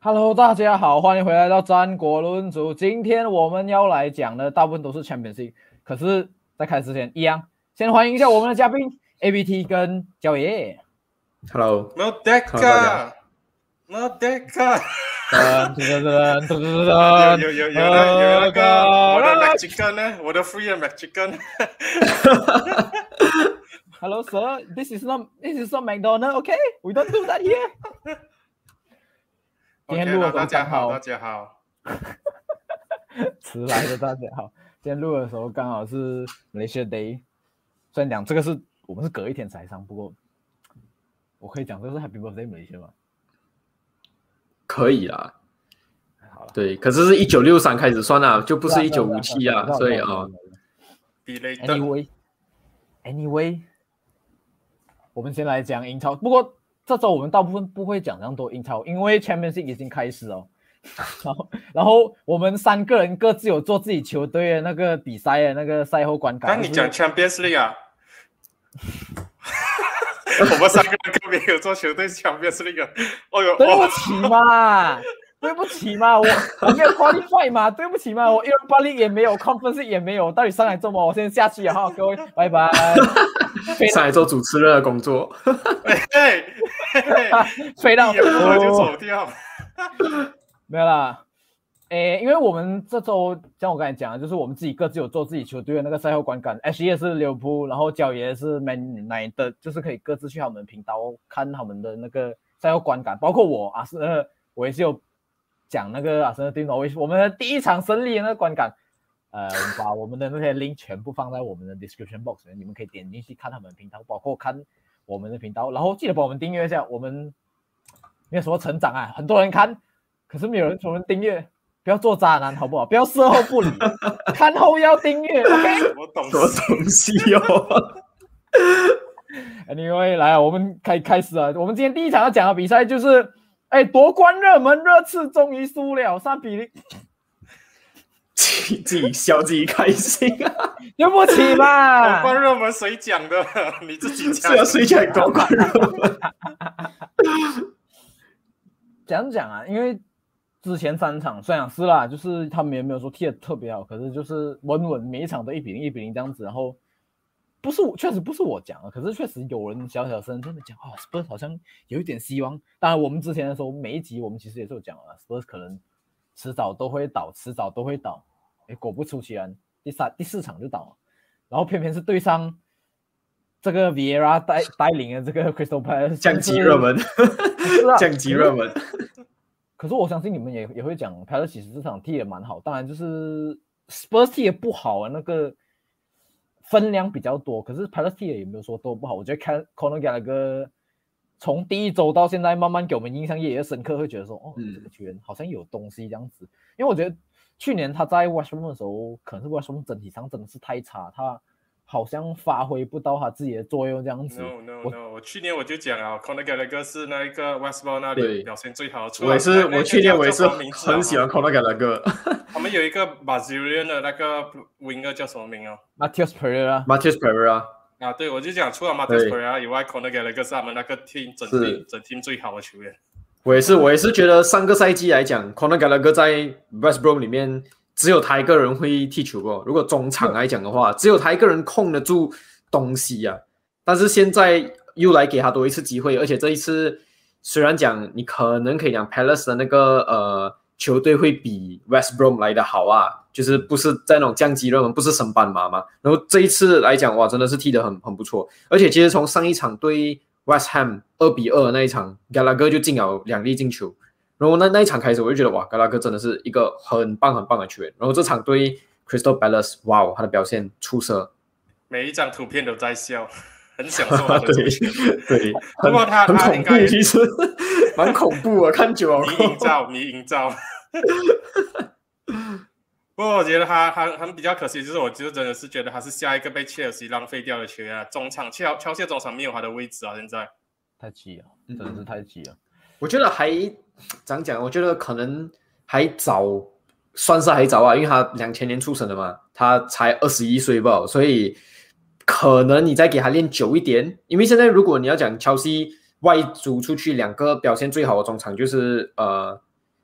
Hello，大家好，欢迎回来到战国论足。今天我们要来讲的大部分都是 Championship， 可是，在开始之前，一样先欢迎一下我们的嘉宾 ABT 跟焦爷。 Hello， Merdeka， Merdeka， 有那个我的 McChicken 呢，我的 free McChicken。 Hello, sir. This is not McDonald. Okay, we don't do that here. 今天录的时候大家好，大家好。 迟来的大家好。今天录的时候刚好是 Malaysia Day， 虽然讲这个是我们是隔一天才上，不过我可以讲这个是 Happy Birthday Malaysia 吗？ 可以啦。 好了， 对，可是是1963开始算啦，就不是1957啊，所以啊。 Anyway， 我们先来讲英超，不过这周我们大部分不会讲这样多英超，因为 Championship 已经开始了。然后我们三个人各自有做自己球队的那个比赛的那个赛后观感。 那你讲 Champions League 啊？我们三个人都没有做球队 Champions League。哦呦， 对不起嘛，对不起嘛，我没有 qualify 嘛，对不起嘛，我 Europa League 也没有 Conference 也没有，到底上来做么？我先下去了哈，各位，拜拜。 上来做主持人的工作。 飞到我就走掉。 没有啦，因为我们这周像我刚才讲的，就是我们自己各自有做自己球队的那个赛后观感 ，H 也是利物浦，然后焦爷是 Man United， 就是可以各自去他们频道看他们的那个赛后观感，包括我我也是有讲那个阿森纳对挪威我们的第一场胜利的那个观感，我们把我们的那些 link 全部放在我们的 description box 里面，你们可以点进去看他们的频道，包括看我们的频道，然后记得帮我们订阅一下，我们没有什么成长啊，很多人看。可是没有人从人订阅，不要做渣男好不好？不要事后不理，看后要订阅 ，OK？ 什么东西哦 ？Anyway， 来，我们开始了。我们今天第一场要讲的比赛就是，夺冠热门热刺终于输了3-0， 自己笑自己开心啊！ 对不起嘛。 夺冠热门谁讲的？你自己讲。 是啊，谁讲夺冠热门？ 讲啊，因为之前3场虽然是啦，就是他们也没有说踢得特别好，可是就是稳每一场都1-0、1-0这样子。然后确实不是我讲的，可是确实有人小声真的讲Spurs 好像有一点希望。当然我们之前的时候每一集我们其实也是有讲了 Spurs 可能迟早都会倒。果不出其然，第4场就倒了，然后偏偏是对上这个 Vieira 带领的这个 Crystal Palace 降级热门，降级热门。 可是我相信你们也会讲 Palace 其实这场踢得蛮好，当然就是 Spurs 踢得不好啊，那个分量比较多，可是 Palace 踢也没有说都不好。我觉得看 Conor Gallagher 从第一周到现在慢慢给我们印象越深刻，会觉得说这个球员好像有东西这样子。因为我觉得去年他在 West Brom 的时候，可能是 West Brom 整体上真的是太差，他好像发挥不到他自己的作用这样子。 No， 我去年我就讲啊 Conor Gallagher 是那一个 West Brom 那里表现最好的。 我去年我也是很喜欢 Conor Gallagher。 他们有一个 Brazilian 的那个 winger 叫什么名啊 ？Matheus Pereira。 啊，对，我就讲除了 Matheus Pereira 以外 ，Conor Gallagher 是他们那个 team 整 team 最好的球员。 我也是觉得上个赛季来讲 ，Conor Gallagher 在 West Brom 里面。只有他一个人会踢球过。如果中场来讲的话，只有他一个人控得住东西啊。但是现在又来给他多一次机会，而且这一次虽然讲你可能可以讲 Palace 的那个球队会比 West Brom 来的好啊，就是不是在那种降级热门，不是升班马嘛。然后这一次来讲，哇，真的是踢得很不错。而且其实从上一场对 West Ham 2-2那一场 ，Gallagher 就进了2粒进球。然后那一场开始，我就觉得哇，加拉格真的是一个很棒的球员。然后这场对 Crystal Palace， 哇，他的表现出色， 每一张图片都在笑，很享受他的表现。 对， 不过他恐怖，其实蛮恐怖的，看久了。 你营造。不过我觉得他比较可惜，就是我就真的是觉得他是下一个被切尔西浪费掉的球员啊。中场切尔西中场没有他的位置啊，现在太急了，真的是太急了。 我觉得怎样讲？我觉得可能还早，算是还早啊，因为他2000年出生的嘛，他才21岁吧，所以可能你再给他练久一点。因为现在如果你要讲切尔西外租出去2个表现最好的中场，就是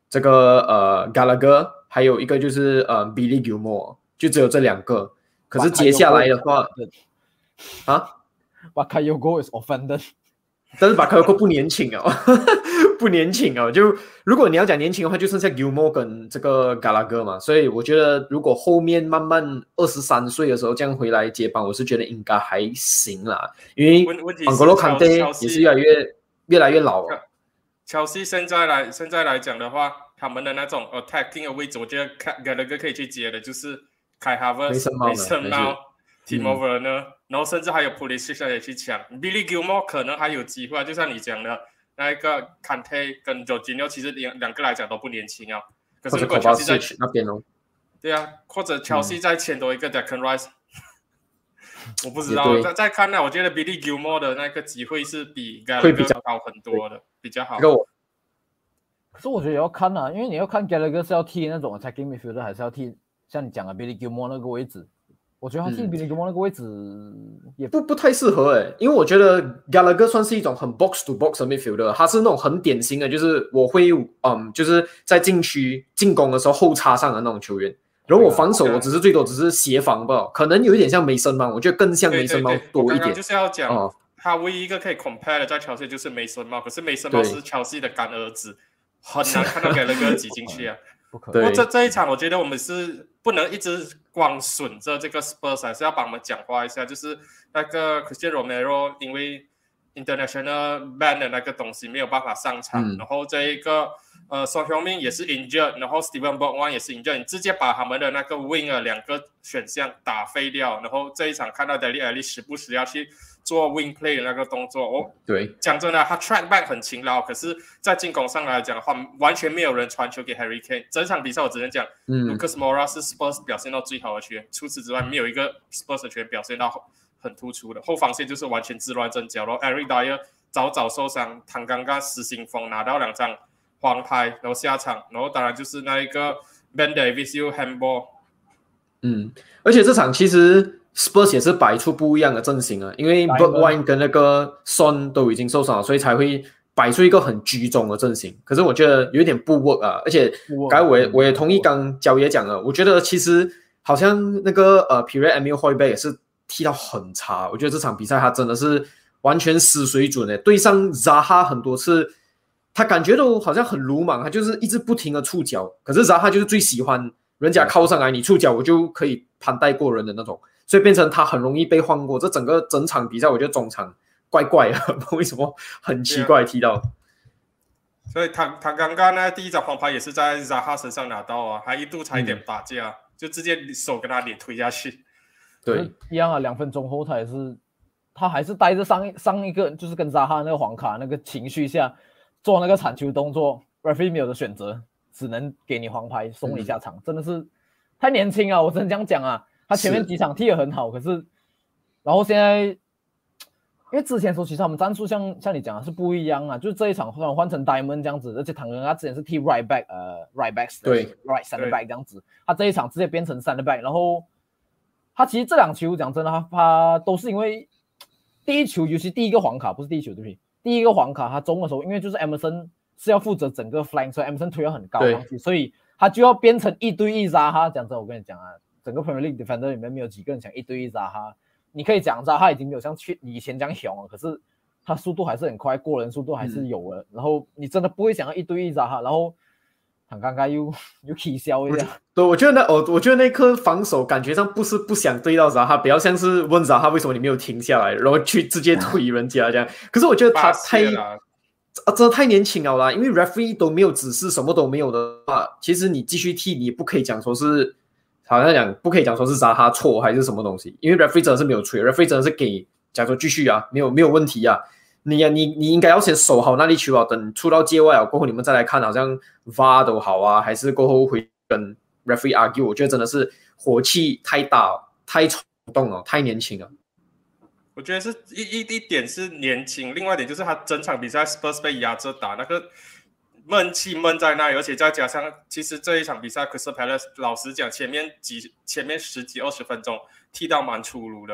这个Gallagher， 还有一个就是Billy Gilmore， 就只有这2个。可是接下来的话，啊 Bakayoko is offended。 但是Bakayoko不年轻哦，不年轻哦。就如果你要讲年轻的话，就剩下 Gilmore 跟这个 Gallagher 嘛。所以我觉得，如果后面慢慢23岁的时候这样回来接班，我是觉得应该还行啦。因为 N'Golo Kante 也是越来越老了。 Chelsea 现在来讲的话，他们的那种 attacking 的位置，我觉得 Gallagher 可以去接的，就是 Kai Havertz、Mason Mount、Timo Werner， 然后甚至还有 Pulisic 也去抢。Billy Gilmore 可能还有机会，就像你讲的那一个 Kante 跟 Jorginho， 其实两个来讲都不年轻啊。可是如果 Chelsea 在那边哦， 对啊，或者 Chelsea 再签多一个 Declan Rice，我不知道。再看呢，我觉得 Billy Gilmore 的那个机会是比 Gallagher 高很多的，比较好。 可是我觉得也要看啊，因为你要看 Gallagher 是要踢那种 attacking midfielder， 还是要踢像你讲的 Billy Gilmore 那个位置。我觉得他踢 Billy Gilmore 那个位置也不太适合因为我觉得 Gallagher 算是一种很 box to box 的 midfielder， 他是那种很典型的，就是我会就是在禁区进攻的时候后插上的那种球员。然后我防守，我最多只是协防吧，可能有一点像Mason Mount，我觉得更像Mason Mount多一点。 我刚刚就是要讲，他唯一一个可以 compare 的在Chelsea就是 Mason Mount， 可是 Mason Mount 是 Chelsea 的干儿子，很难看到Gallagher 挤进去啊。不过这一场，我觉得我们是不能一直光损着这个 Spurs， 还是要帮我们讲话一下。就是那个 Cristiano Romero 因为 international ban 的那个东西没有办法上场，然后这一个Son Heung-min 也是 injured， 然后 Steven Bergwijn 也是 injured， 你直接把他们的那个 winger 2个选项打废掉，然后这一场看到 Dele Alli 时不时要去做 wing play 的那个动作， 对， 讲真的，他 track back 很勤劳，可是在进攻上来讲的话，完全没有人传球给 Harry Kane。整场比赛我只能讲，Lucas Moura 是 Spurs 表现到最好的球员，除此之外没有一个 Spurs 的球员表现到很突出的，后防线就是完全自乱阵脚。然后 Eric Dyer 早受伤，唐刚刚失心疯，拿到2张黄牌，然后下场，然后当然就是那一个 Ben Davies 又 handball。 而且这场其实 Spurs 也是摆出不一样的阵型啊，因为 Bergwijn 跟那个 Son 都已经受伤了，所以才会摆出一个很居中的阵型。可是我觉得有点不 work 啊，而且刚才我也同意刚焦爷讲了，我觉得其实好像那个Pierre-Emile Højbjerg 也是踢到很差，我觉得这场比赛他真的是完全失水准对上 Zaha 很多次，他感觉都好像很鲁莽，他就是一直不停的触脚，可是 Zaha 就是最喜欢人家靠上来，你触脚我就可以攀带过人的那种，所以变成他很容易被换过。这整场比赛，我觉得中场怪怪的，不知道为什么很奇怪踢到。 所以他刚刚那第一张黄牌也是在 Zaha 身上拿到啊，还一度差一点打架，就直接手跟他脸推下去。 对， 一样啊，2分钟后他还是带着上一个就是跟 Zaha 那个黄卡那个情绪下做那个铲球动作 ，referee 没有的选择，只能给你黄牌送你下场，真的是太年轻了，我只能这样讲啊。他前面几场踢得很好，可是然后现在因为之前说其实他们战术像你讲的是不一样啊，就是这一场换成 Diamond 这样子，而且唐人他之前是踢 right back 对 right center back 这样子，他这一场直接变成 center back， 然后他其实这2球讲真的他都是因为第一球尤其第一个黄卡不是第一球对不对？第一个黄卡他中的时候，因为就是 Emerson 是要负责整个 flank， 所以 Emerson 推要很高上去，所以他就要变成1对1Zaha。讲真，我跟你讲啊，整个 Premier League defender 里面没有几个人想1对1Zaha。你可以讲Zaha已经没有像以前这样凶了，可是他速度还是很快，过人速度还是有的。然后你真的不会想要1对1Zaha，然后他刚刚又起笑一下。 对，我觉得那颗防守感觉上不是不想对到Zaha，比较像是问Zaha为什么你没有停下来，然后去直接推人家这样。可是我觉得他真的太年轻了啦，因为 referee 都没有指示，什么都没有的话，其实你继续踢，你不可以讲说是好像讲不可以讲说是Zaha错还是什么东西，因为 referee 真的是没有吹 ，referee 真的是给讲说继续啊，没有问题啊。你应该要先守好那粒球啊，等出到界外啊过后，你们再来看，好像 VAR 都好啊，还是过后会跟 referee argue。我觉得真的是火气太大，太冲动了，太年轻了。 我觉得是一点是年轻，另外一点就是他整场比赛 Spurs 被压着打，那个闷气闷在那里，而且再加上其实这一场比赛 Crystal Palace 老实讲前面10几20分钟踢到蛮粗鲁的。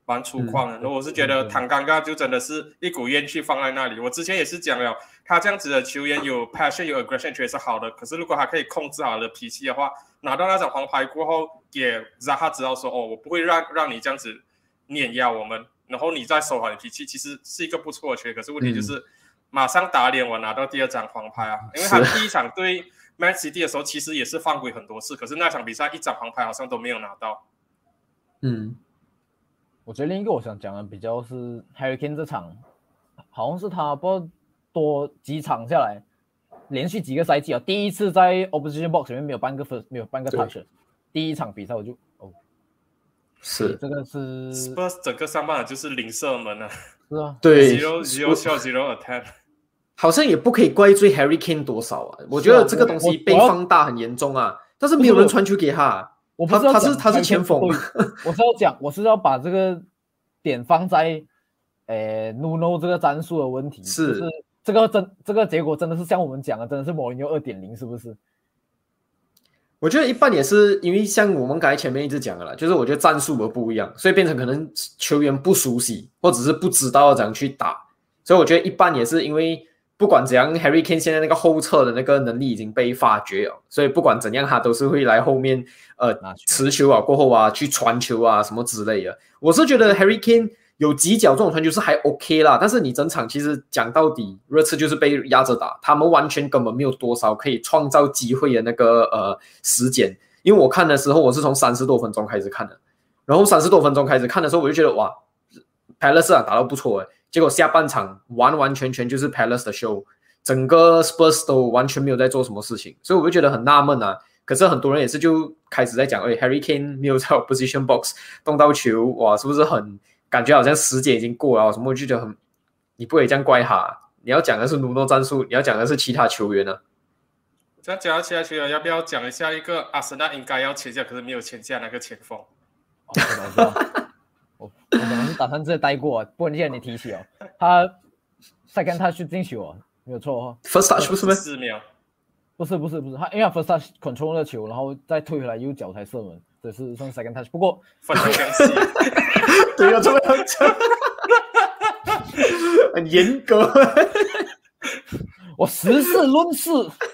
蛮粗犷的。然后我是觉得唐尴尬就真的是一股怨气放在那里。我之前也是讲了，他这样子的球员有 passion 有 aggression 确实是好的，可是如果他可以控制好的脾气的话，拿到那张黄牌过后，也让他知道说我不会让你这样子碾压我们，然后你再收好你脾气，其实是一个不错的球员。可是问题就是马上打脸我拿到第2张黄牌啊，因为他第一场对 Man City 的时候其实也是犯规很多次，可是那场比赛1张黄牌好像都没有拿到。 我觉得另一个我想讲的比较是 Harry Kane 这场，好像是他不知道多几场下来，连续几个赛季啊，第一次在 opposition box 里面没有半个 touch， 第一场比赛我就是这个是 Spurs 整个上半场就是零射门啊， 是啊， 对 zero shot zero attempt， 好像也不可以怪罪 Harry Kane 多少啊，我觉得这个东西被放大很严重啊，但是没有人传球给他。他是前锋， 我是要把这个点放在Nuno 这个战术的问题，是这个结果真的是像我们讲的，真的是Mourinho 2.0， 是不是？ 我觉得一半也是因为像我们刚才前面一直讲的啦，就是我觉得战术的不一样，所以变成可能球员不熟悉，或者是不知道怎样去打，所以我觉得一半也是因为。不管怎样 Harry Kane 现在那个后撤的那个能力已经被发掘了，所以不管怎样他都是会来后面持球啊过后啊去传球啊什么之类的。我是觉得 Harry Kane 有几脚这种传球是还 OK 啦，但是你整场其实讲到底热刺就是被压着打，他们完全根本没有多少可以创造机会的那个时间。因为我看的时候我是从30多分钟开始看的，然后30多分钟开始看的时候我就觉得哇 Palace 打得不错结果下半场完完全全就是 Palace 的 show， 整个 Spurs 都完全没有在做什么事情，所以我就觉得很纳闷啊。可是很多人也是就开始在讲Harry Kane 没有在 position box 动到球，哇，是不是很感觉好像时间已经过了什么？我就觉得很，你不可以这样怪他，你要讲的是Nuno战术，你要讲的是其他球员啊。 这样讲到其他球员，要不要讲一下一个阿森纳应该要签下可是没有签下那个前锋？ 我本来是打算直接带过，不过既然你提起他second touch 进球没有错 first touch 不是吗 ？4秒， 不是他，因为他 first touch control 了球，然后再推回来右脚才射门，这是算 second touch。不过分得详细， 对，有这么样讲，很严格。 我实事论事，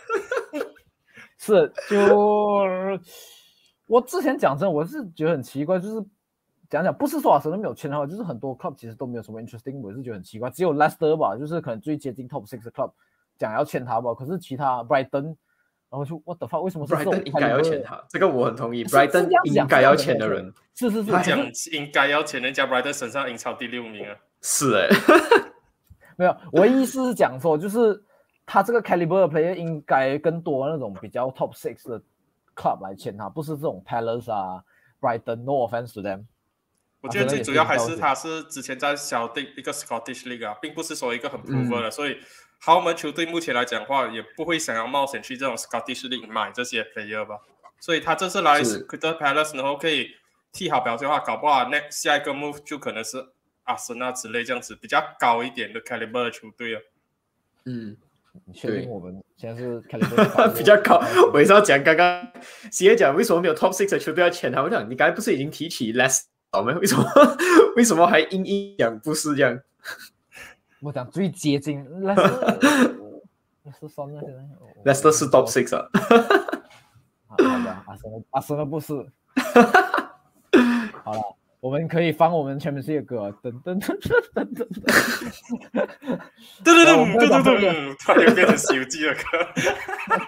是就我之前讲真，我是觉得很奇怪，就是讲不是说阿森纳没有签他，就是很多 club 其实都没有什么 interesting， 我是觉得很奇怪，只有 Leicester 吧，就是可能最接近 top 6的 club 讲要签他吧，可是其他 Brighton， 然后就 what the fuck， 为什么是 Brighton 应该要签他？这个我很同意 ，Brighton 应该要签的人， 是， 他讲应该要签，人家 Brighton 身上英超第6名啊， 是没有，我意思是讲说，就是他这个 caliber 的 player 应该更多那种比较 top 6的 club 来签他，不是这种 Palace 啊 ，Brighton，no offense to them。 我觉得最主要还是他是之前在小弟一个 Scottish League 啊，并不是说一个很 proven 的，所以豪门球队目前来讲的话，也不会想要冒险去这种 Scottish League 买这些 player 吧。所以他这次来 Crystal Palace 然后可以踢好表现的话，搞不好下一个 move 就可能是阿森纳之类这样子比较高一点的 caliber 的球队啊。 你确定我们现在是 caliber 比较高？我也是要讲刚刚谢讲为什么没有 top 6的球队要签他？我讲你刚才不是已经提起 Leicester 吗？为什么还硬讲不是这样？ 我讲最接近 Leicester 算了，现在 Leicester 是 top 6啊。 好吧，阿森纳不是。好了，我们可以放我们前面这些歌，噔噔噔噔噔噔噔噔噔，突然变成《西游记》的歌。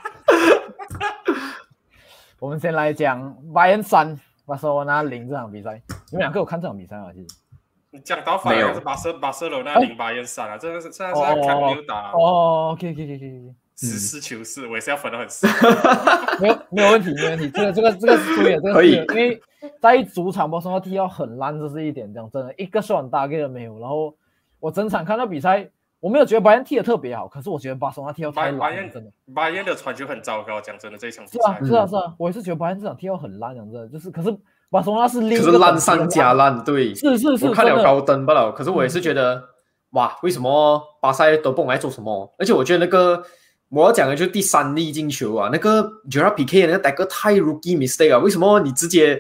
我们先来讲Bayern 3，巴塞罗那0这场比赛。你们两个有看这场比赛吗？其实你讲到反而是巴塞罗那0Bayern 3啊，这个是现在是在看溜打。 可以。 实事求是，我也是要分得很细。 没有问题。这个是对的，这个是因为在主场巴塞罗那踢到很烂，这是一点，讲真的，一个shot大概都没有。然后我整场看到比赛，我没有觉得拜仁踢得特别好，可是我觉得巴塞罗那踢到太烂，真的。 拜仁的传球很糟糕，讲真的这一场比赛。 是啊，我也是觉得拜仁这场踢到很烂，讲真的，就是可是巴塞罗那是另一个可是烂上加烂，对， 是， 我看了高登不了，可是我也是觉得哇，为什么巴塞都不懂来做什么？而且我觉得那个。我要讲的就是第3粒进球啊，那个 Gerard Piqué 那个 tackle 太 rookie mistake 啊，为什么你直接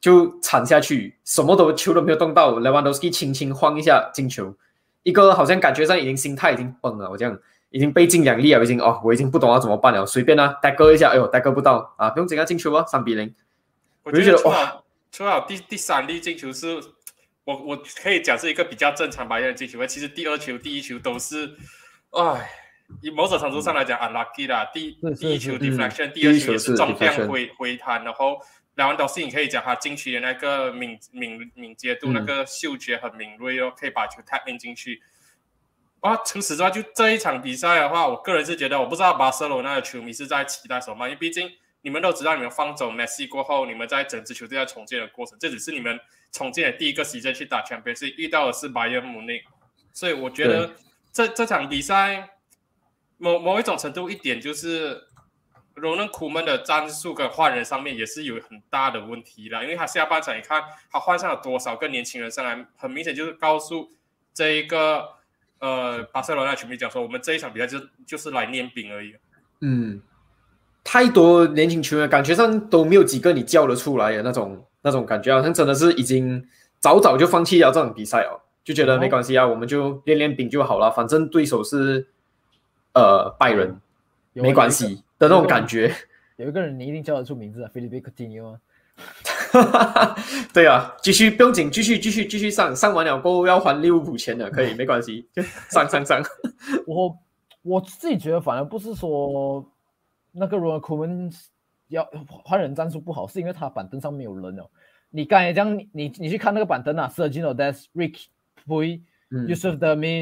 就铲下去，什么球都没有动到 ，Lewandowski 轻轻晃一下进球，一个好像感觉上已经心态已经崩了，我这样已经背尽2粒了，我已经不懂要怎么办了，随便啊 ，tackle 一下，哎呦 tackle 不到啊，不用紧啊，进球啊，3-0。 我觉得哇，除了第3粒进球是我可以讲是一个比较正常白人的进球，其实第2球、第1球都是，以某种程度上来讲 unlucky 啦，第1球 deflection，第2球也是中量回弹，然后Lewandowski 你可以讲他禁区的那个敏捷度，那个嗅觉很敏锐哦，可以把球 tap in 进去。除此之外，就这一场比赛的话，我个人是觉得，我不知道巴塞罗那的球迷是在期待什么，因为毕竟你们都知道，你们放走 Messi 过后，你们在整支球队在重建的过程，这只是你们重建的第1个season去打 Champions League， 遇到的是 Bayern Munich， 所以我觉得这场比赛某一种程度一点就是Ronald Koeman 的战术跟换人上面也是有很大的问题啦，因为他下半场你看他换上了多少个年轻人上来，很明显就是告诉这一个巴塞罗那球迷讲说，我们这一场比赛就是来练兵而已。 太多年轻球员感觉上都没有几个你叫得出来的那种感觉，好像真的是已经早就放弃了这场比赛哦，就觉得没关系啊，我们就练兵就好了，反正对手是拜仁，没关系的那种感觉。 有一个人你一定叫得出名字啊 ，Philippe Coutinho 啊。对啊，继续不用紧，继续上完了过后要还利物浦钱的，可以没关系，就上。 我自己觉得反而不是说那个 Ronald Koeman 要换人战术不好，是因为他板凳上没有人哦。你刚才讲你去看那个板凳啊 ，Sergio Dest、Rick、Puig、Yusuf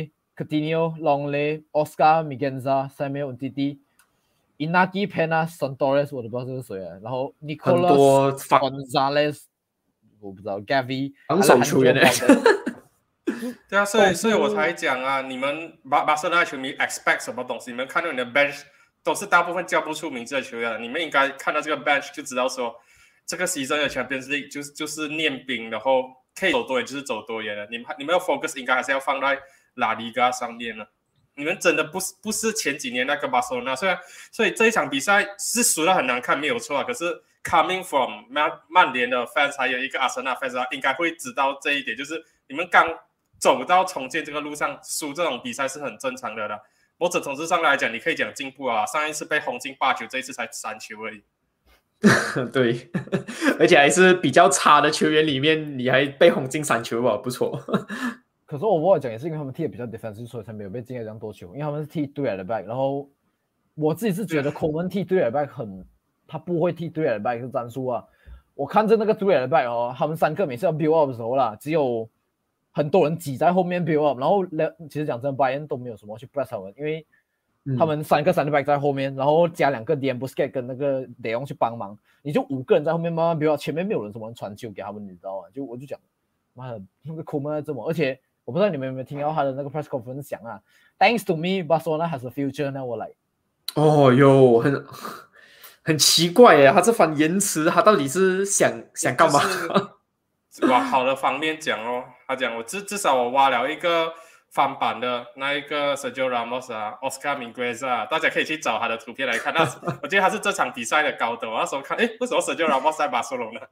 Demi、Coutinho、Longley、Oscar Miguenza、Samuel Umtiti、Inaki Peña、Son-Torres 我都不知道是谁啊，然后 Nicolas Gonzalez 我不知道 Gavi 防守球员对啊，所以我才讲啊，你们巴塞罗那球迷 expect 什么东西？你们看到你的 bench 都是大部分叫不出名字的球员，你们应该看到这个 bench 就知道说，这个season的 Champions League 就是练兵，然后可以走多远就是走多远了。你们要 focus 应该还是要放在拉利嘎上面了。你们真的不是前几年那个巴塞罗那，所以这一场比赛是输得很难看，没有错啊。可是 coming from 曼联的 fans 还有一个阿森纳 fans 应该会知道这一点，就是你们刚走到重建这个路上，输这种比赛是很正常的啦。某种程度上来讲，你可以讲进步啊。上一次被轰进8球，这一次才3球而已。 对，而且还是比较差的球员里面，你还被轰进3球吧，不错。 可是我讲也是因为他们踢的比较 defensive， 所以才没有被进了这样多球。因为他们是踢3 at the back， 然后我自己是觉得 Koeman 踢3 at the back 他不会踢3 at the back 是战术啊。我看着那个3 at the back 哦，他们3个每次要 build up 的时候啦，只有很多人挤在后面 build up， 然后其实讲真 ，Bayern 都没有什么去 press 他们，因为他们3个center back 在后面，然后加2个 Dean Busquets 跟那个 De Jong 去帮忙，你就5个人在后面慢慢 build up， 前面没有人什么传球给他们，你知道吗？我就讲，妈的，那个 Koeman 这么，而且我不知道你们有没有听到他的那个 press conference 讲啊 ，Thanks to me, Barcelona has a future， 那我来。 哦哟，很奇怪耶，他这番言辞，他到底是想干嘛？ 往好的方面讲哦，他讲我至少我挖了一个翻版的那一个 Sergio Ramos 啊 ，Oscar Miguenza， 大家可以去找他的图片来看。我觉得他是这场比赛的高度。我那时候看，为什么 Sergio Ramos 在巴塞罗那？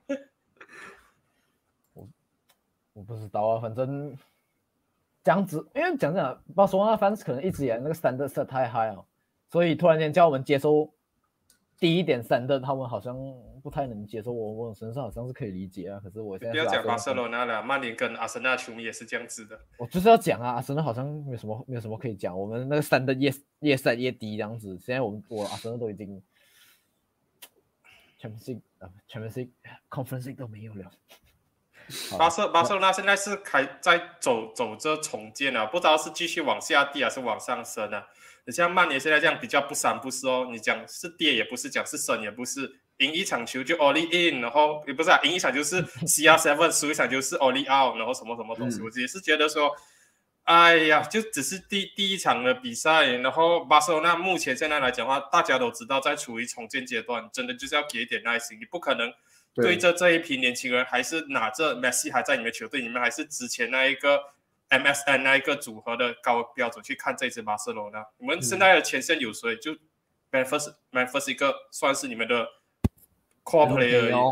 我不知道啊，反正这样子，因为讲真，巴塞罗那 fans 可能一直以来那个 standard set 太 high 了，所以突然间叫我们接受低一点standard，他们好像不太能接受。我身上好像是可以理解啊，可是我现在不要讲巴塞罗那了，曼联跟阿森纳球迷也是这样子的。 我就是要讲啊，阿森纳好像没有什么可以讲，我们那个standard越set越低这样子。现在我阿森纳都已经 Champions League、Conference League 都没有了。 巴塞罗那现在是在走着重建啊，不知道是继续往下跌还是往上升啊。像曼联现在这样比较不三不四哦，你讲是跌也不是，讲是升也不是，赢一场球就 all in， 然后也不是啊，赢一场就是 CR7， 输一场就是 all out， 然后什么东西，我也是觉得说，哎呀，就只是第一场的比赛，然后巴塞罗那目前现在来讲的话，大家都知道在处于重建阶段，真的就是要给一点耐心，你不可能对着这一批年轻人，还是拿着 Messi 还在你们球队里面，还是之前那一个 MSN 那一个组合的高标准去看这支巴塞罗那。你们现在的前线有谁？就 Memphis 一个算是你们的 core player 而已。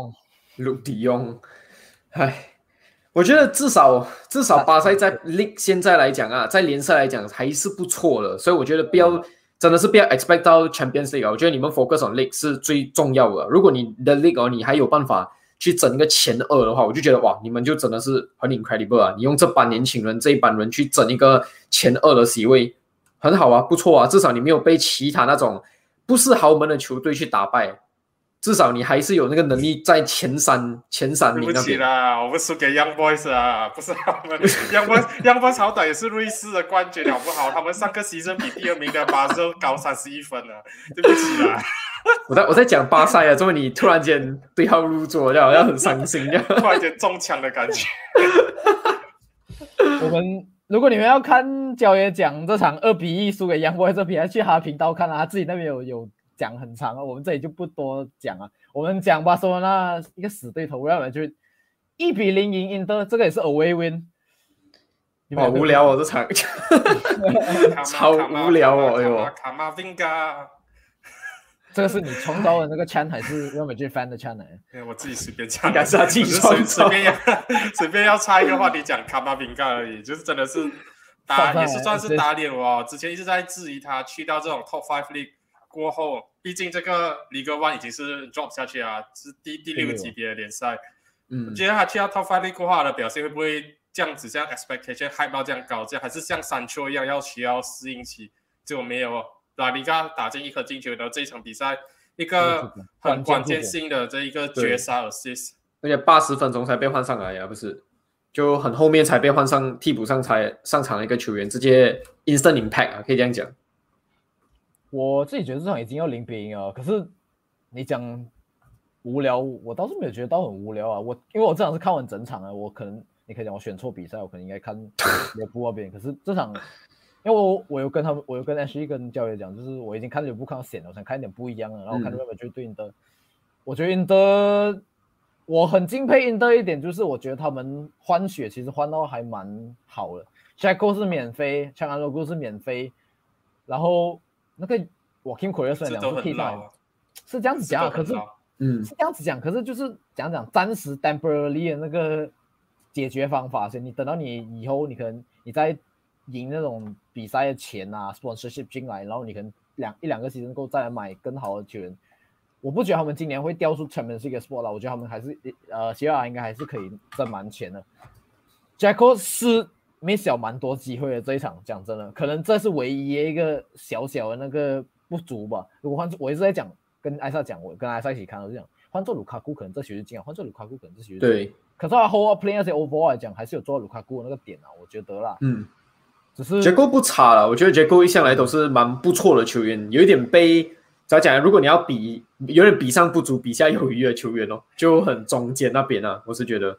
鲁迪翁，我觉得至少巴塞在 League 现在来讲啊，在联赛来讲还是不错的，所以我觉得真的是不要 expect 到 Champions League 我觉得你们 focus on League 是最重要的。如果你的 League 你还有办法去整一个前2的话，我就觉得哇，你们就真的是很 incredible 啊！你用这班年轻人这一班人去整一个前2的席位，很好啊，不错啊，至少你没有被其他那种不是豪门的球队去打败。至少你还是有那个能力在前三名那边。 对不起啦，我们输给 Young Boys 啊，不是他们 Young Boys 好歹也是瑞士的冠军好不好？他们上个season比第2名的巴塞高31分啊，对不起啦。 我在讲巴塞啊，怎么你突然间对号入座，好像很伤心这样， 突然间中枪的感觉。 如果你们要看焦爷讲这场2-1输给 Young Boys 这比赛，去他频道看啊，他自己那边有讲很长啊，我们这里就不多讲啊。我们讲巴塞罗那一个死对头，我要就1-0赢印特，这个也是 away win。 好无聊哦，这场超无聊哦，哎呦！ 卡马vinga， 这个是你创造的那个 chant 还是Real Madrid fan 的 chant 呢？ 我自己随便讲， 应该是他自己创造， 随便要插一个话题讲卡马vinga而已，就是真的是也是算是打脸我。之前一直在质疑他去到这种 Top 5 League 过后，毕竟这个 Ligue 1已经是 drop 下去啊，是第6级别的联赛。我觉得他去到 Top 5 League 过后，他的表现会不会这样子，像 expectation hype 到这样高，这样还是像山丘一样需要适应期？结果没有，拉里加打进1颗进球的这一场比赛，一个很关键性的这一个绝杀 assist， 而且80分钟才被换上来呀，不是？就很后面才被换上替补上才上场的一个球员，直接 instant impact 啊，可以这样讲。 我自己觉得这场已经要0-0了，可是你讲无聊，我倒是没有觉得到很无聊啊。因为我这场是看完整场啊，你可以讲我选错比赛，我可能应该看利物浦那边。可是这场，因为我有跟Ashley 跟教练讲，就是我已经看利物浦看到险了，我想看一点不一样的。然后看 Real Madrid 对印特，我觉得印特，我很敬佩印特一点，就是我觉得他们换血其实换到还蛮好的。Jaco 是免费 ，Çalhanoğlu 是免费，然后那个Joaquin Correa 虽然2次替代，是这样子讲，可是是这样子讲，可是就是讲暂时 temporarily 的那个解决方法，所以你等到你以后，你可能你在赢那种比赛的钱啊 ，sponsorship 进来，然后你可能一两个 season 够再来买更好的球员。我不觉得他们今年会掉出 Champions League spot 了，我觉得他们还是希腊应该还是可以挣蛮钱的。Jaco 是miss 了蛮多机会的这一场，讲真的，可能这是唯一一个小小的那个不足吧。如果我一直在讲，跟艾莎讲，我跟艾莎一起看，我就讲换做卢卡库可能这球就进了，换做卢卡库可能这球就进了。 对。 可是他 whole play 那些 overall 来讲，还是有做到卢卡库的那个点啊，我觉得啦。只是 Jaco 不差了，我觉得 Jaco 一向来都是蛮不错的球员，有一点被怎么讲？如果你要比，有点比上不足，比下有余的球员哦，就很中间那边啊，我是觉得。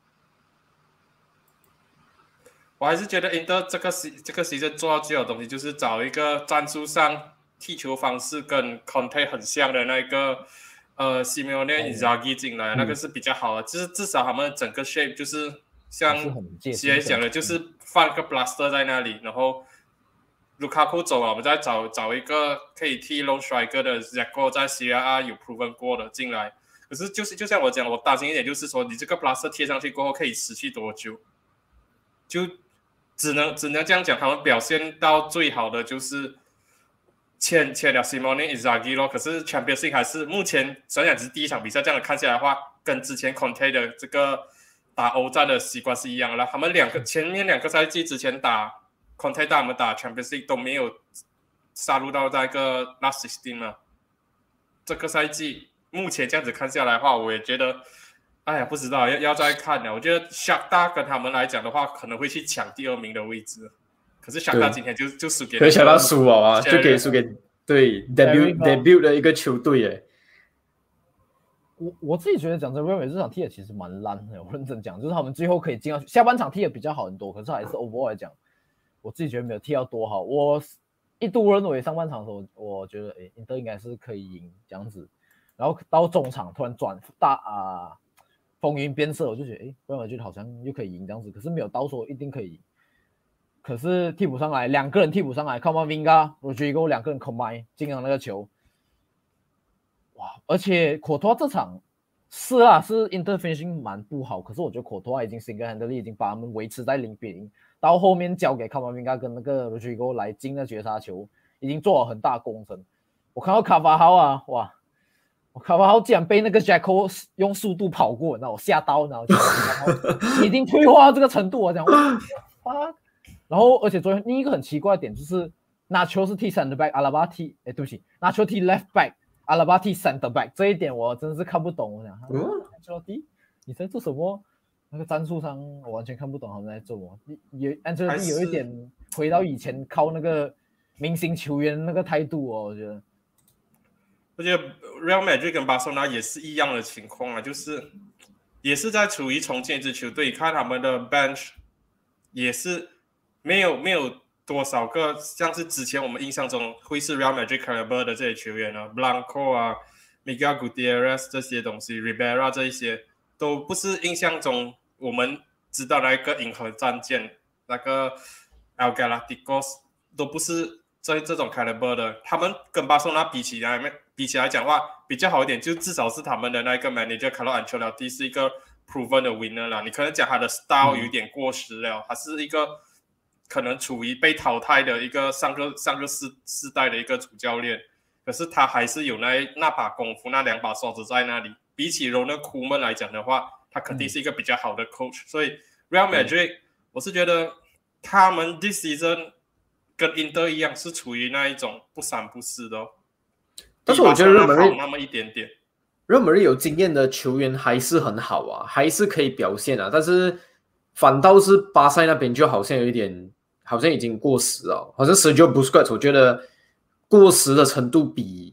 我还是觉得 Inter 这个season 做到最好的东西，就是找一个战术上踢球方式跟 Conte 很像的那个Simeone Inzaghi 进来，那个是比较好的，就是至少他们整个 shape 就是像杰讲的，就是放个 Blaster 在那里，然后卢卡库走了，我们再找一个可以踢 Lone Striker 的 Jaco 在 Serie A 有 proven 过的进来。可是就像我讲，我担心一点就是说，你这个 Blaster 贴上去过后可以持续多久？就只能这样讲，他们表现到最好的就是签了 Simone Inzaghi 咯。可是 Champions League 还是目前虽然只是第一场比赛，这样看下来的话，跟之前 Conte 的这个打欧战的习惯是一样的。他们前面2个赛季之前打 Conte 带我们打 Champions League 都没有杀入到那个 Last 16嘛。这个赛季目前这样子看下来的话，我也觉得。哎呀，不知道要再看了。我觉得Shakhtar跟他们来讲的话，可能会去抢第2名的位置。可是Shakhtar今天就输给 Shakhtar输了啊，就给输给对 debut 的一个球队耶。 我自己觉得讲真，Real Madrid 这场踢的其实蛮烂的。我认真讲，就是他们最后可以进到下半场踢的比较好很多，可是还是 overall 来讲，我自己觉得没有踢到多好。我一度认为上半场的时候，我觉得Inter 应该是可以赢这样子，然后到中场突然转风云变色，我就觉得Real Madrid好像又可以赢这样子，可是没有到说一定可以赢。可是替补上来2个人替补上来 Camavinga、Rodrigo 2个人 combine 进了那个球，哇！而且Courtois 这场是啊，是 interfinishing 蛮不好，可是我觉得Courtois已经 single-handedly 已经把他们维持在0-0，到后面交给卡马宾加跟那个 Rodrigo 来进了绝杀球，已经做了很大工程。我看到卡巴豪啊，哇！卡巴豪竟然被那个 Jacko 用速度跑过，然后我吓到，然后就已经退化到这个程度，我讲哇，然后而且昨天另一个很奇怪的点就是拿球是踢 center back， 阿拉巴踢，对不起，拿球踢 left back， 阿拉巴踢 center back， 这一点我真的是看不懂，我想，你在做什么？那个战术上我完全看不懂他们在做什么。Ancelotti 有一点回到以前靠那个明星球员那个态度哦，我觉得。 Real Madrid 跟巴塞罗那也是一样的情况啊，就是也是在处于重建一支球队，看他们的 bench 也是没有多少个像是之前我们印象中会是 Real Madrid caliber 的这些球员啊 ，Blanco 啊 ，Miguel Gutierrez 这些东西 ，Ribera 这一些都不是印象中我们知道那个银河战舰那个 El Galacticos 都不是这种 caliber 的，他们跟巴塞罗那比起来讲的话比较好一点，就至少是他们的那个 manager Carlo Ancelotti 是一个 proven 的 winner 啦。你可能讲他的 style 有点过时了，他是一个可能处于被淘汰的一个上个世代的一个主教练，可是他还是有那把功夫，那2把刷子在那里。比起 Ronald Koeman 来讲的话，他肯定是一个比较好的 coach，所以 Real Madrid 我是觉得他们 this season 跟 Inter 一样是处于那一种不三不四的哦。 但是我觉得Real Madrid 那么一点点 ，Real Madrid 有经验的球员还是很好啊，还是可以表现啊。但是反倒是巴塞那边就好像有一点，好像已经过时了。好像 Sergio Busquets 我觉得过时的程度比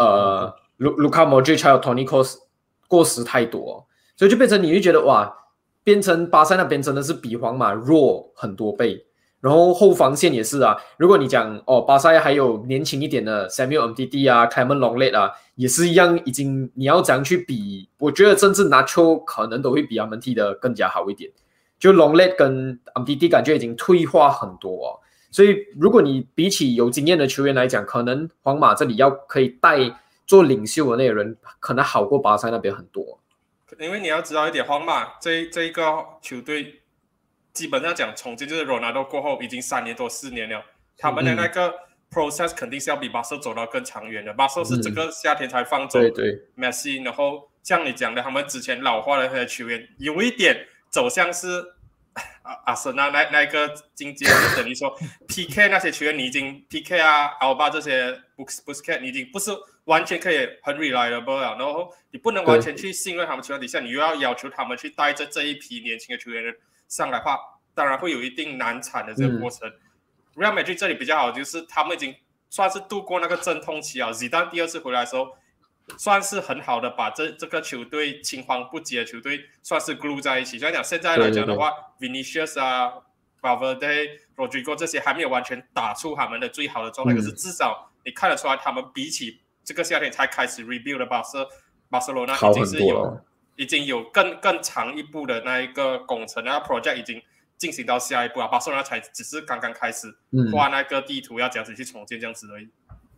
Luka Modric 还有 Toni Kroos 过时太多，所以就变成你会觉得哇，变成巴塞那边真的是比皇马弱很多倍。然后后防线也是啊，如果你讲巴塞还有年轻一点的 Samuel Umtiti 啊 Clement Lenglet 啊，也是一样，已经你要怎样去比，我觉得甚至拿球可能都会比他们踢得更加好一点。就 Lenglet 跟 Umtiti 感觉已经退化很多哦，所以如果你比起有经验的球员来讲，可能皇马这里要可以带做领袖的那个人，可能好过巴塞那边很多。 因为你要知道一点，皇马这一个球队基本上讲重建就是 Ronaldo 过后已经3年多4年了，他们的那个 process 肯定是要比巴塞走到更长远的。巴塞是这个夏天才放走 Messi， 然后像你讲的，他们之前老化的那些球员有一点走向是阿森纳那个境界，就等于说 PK 那些球员你已经 PK 啊 Alba 这些 Busquets 你已经不是完全可以很 reliable 了，然后你不能完全去信任他们球员底下，你又要求他们去带着这一批年轻的球员上来的话，当然会有一定难产的这个过程。Real Madrid 这里比较好，就是他们已经算是度过那个阵痛期啊。Zidane 第2次回来的时候，算是很好的把这个球队青黄不接的球队算是 glue 在一起。所以讲现在来讲的话， Vinicius 啊 Valverde、Rodrigo 这些还没有完全打出他们的最好的状态，可是至少你看得出来，他们比起这个夏天才开始 rebuild 的巴塞罗那已经有更长一步的那一个工程，那 project 已经进行到下一步啊。巴塞罗那才只是刚刚开始画那个地图，要这样子去重建这样子而已。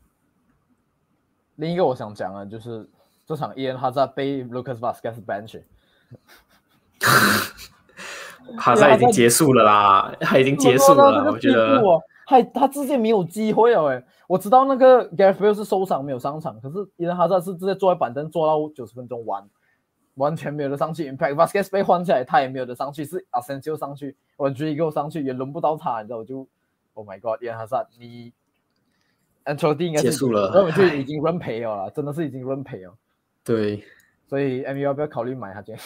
另一个我想讲的就是这场Eden Hazard被 Lucas Vazquez bench， Hazard 已经结束了啦，他已经结束了，我觉得他直接没有机会了我知道那个 Gareth Bale 是受伤没有上场，可是Eden Hazard是直接坐在板凳坐到90分钟完全没有得上去 ，Impact Vazquez 被换下来，他也没有得上去，是 Asensio 上去 ，Rodrigo 上去也轮不到他，你知道我就 ，Oh my God，Eden Hazard 你 Ancelotti 应该是结束了， 就已经认赔了啦，真的是已经认赔了。 对， 所以 MU 要不要考虑买他今天？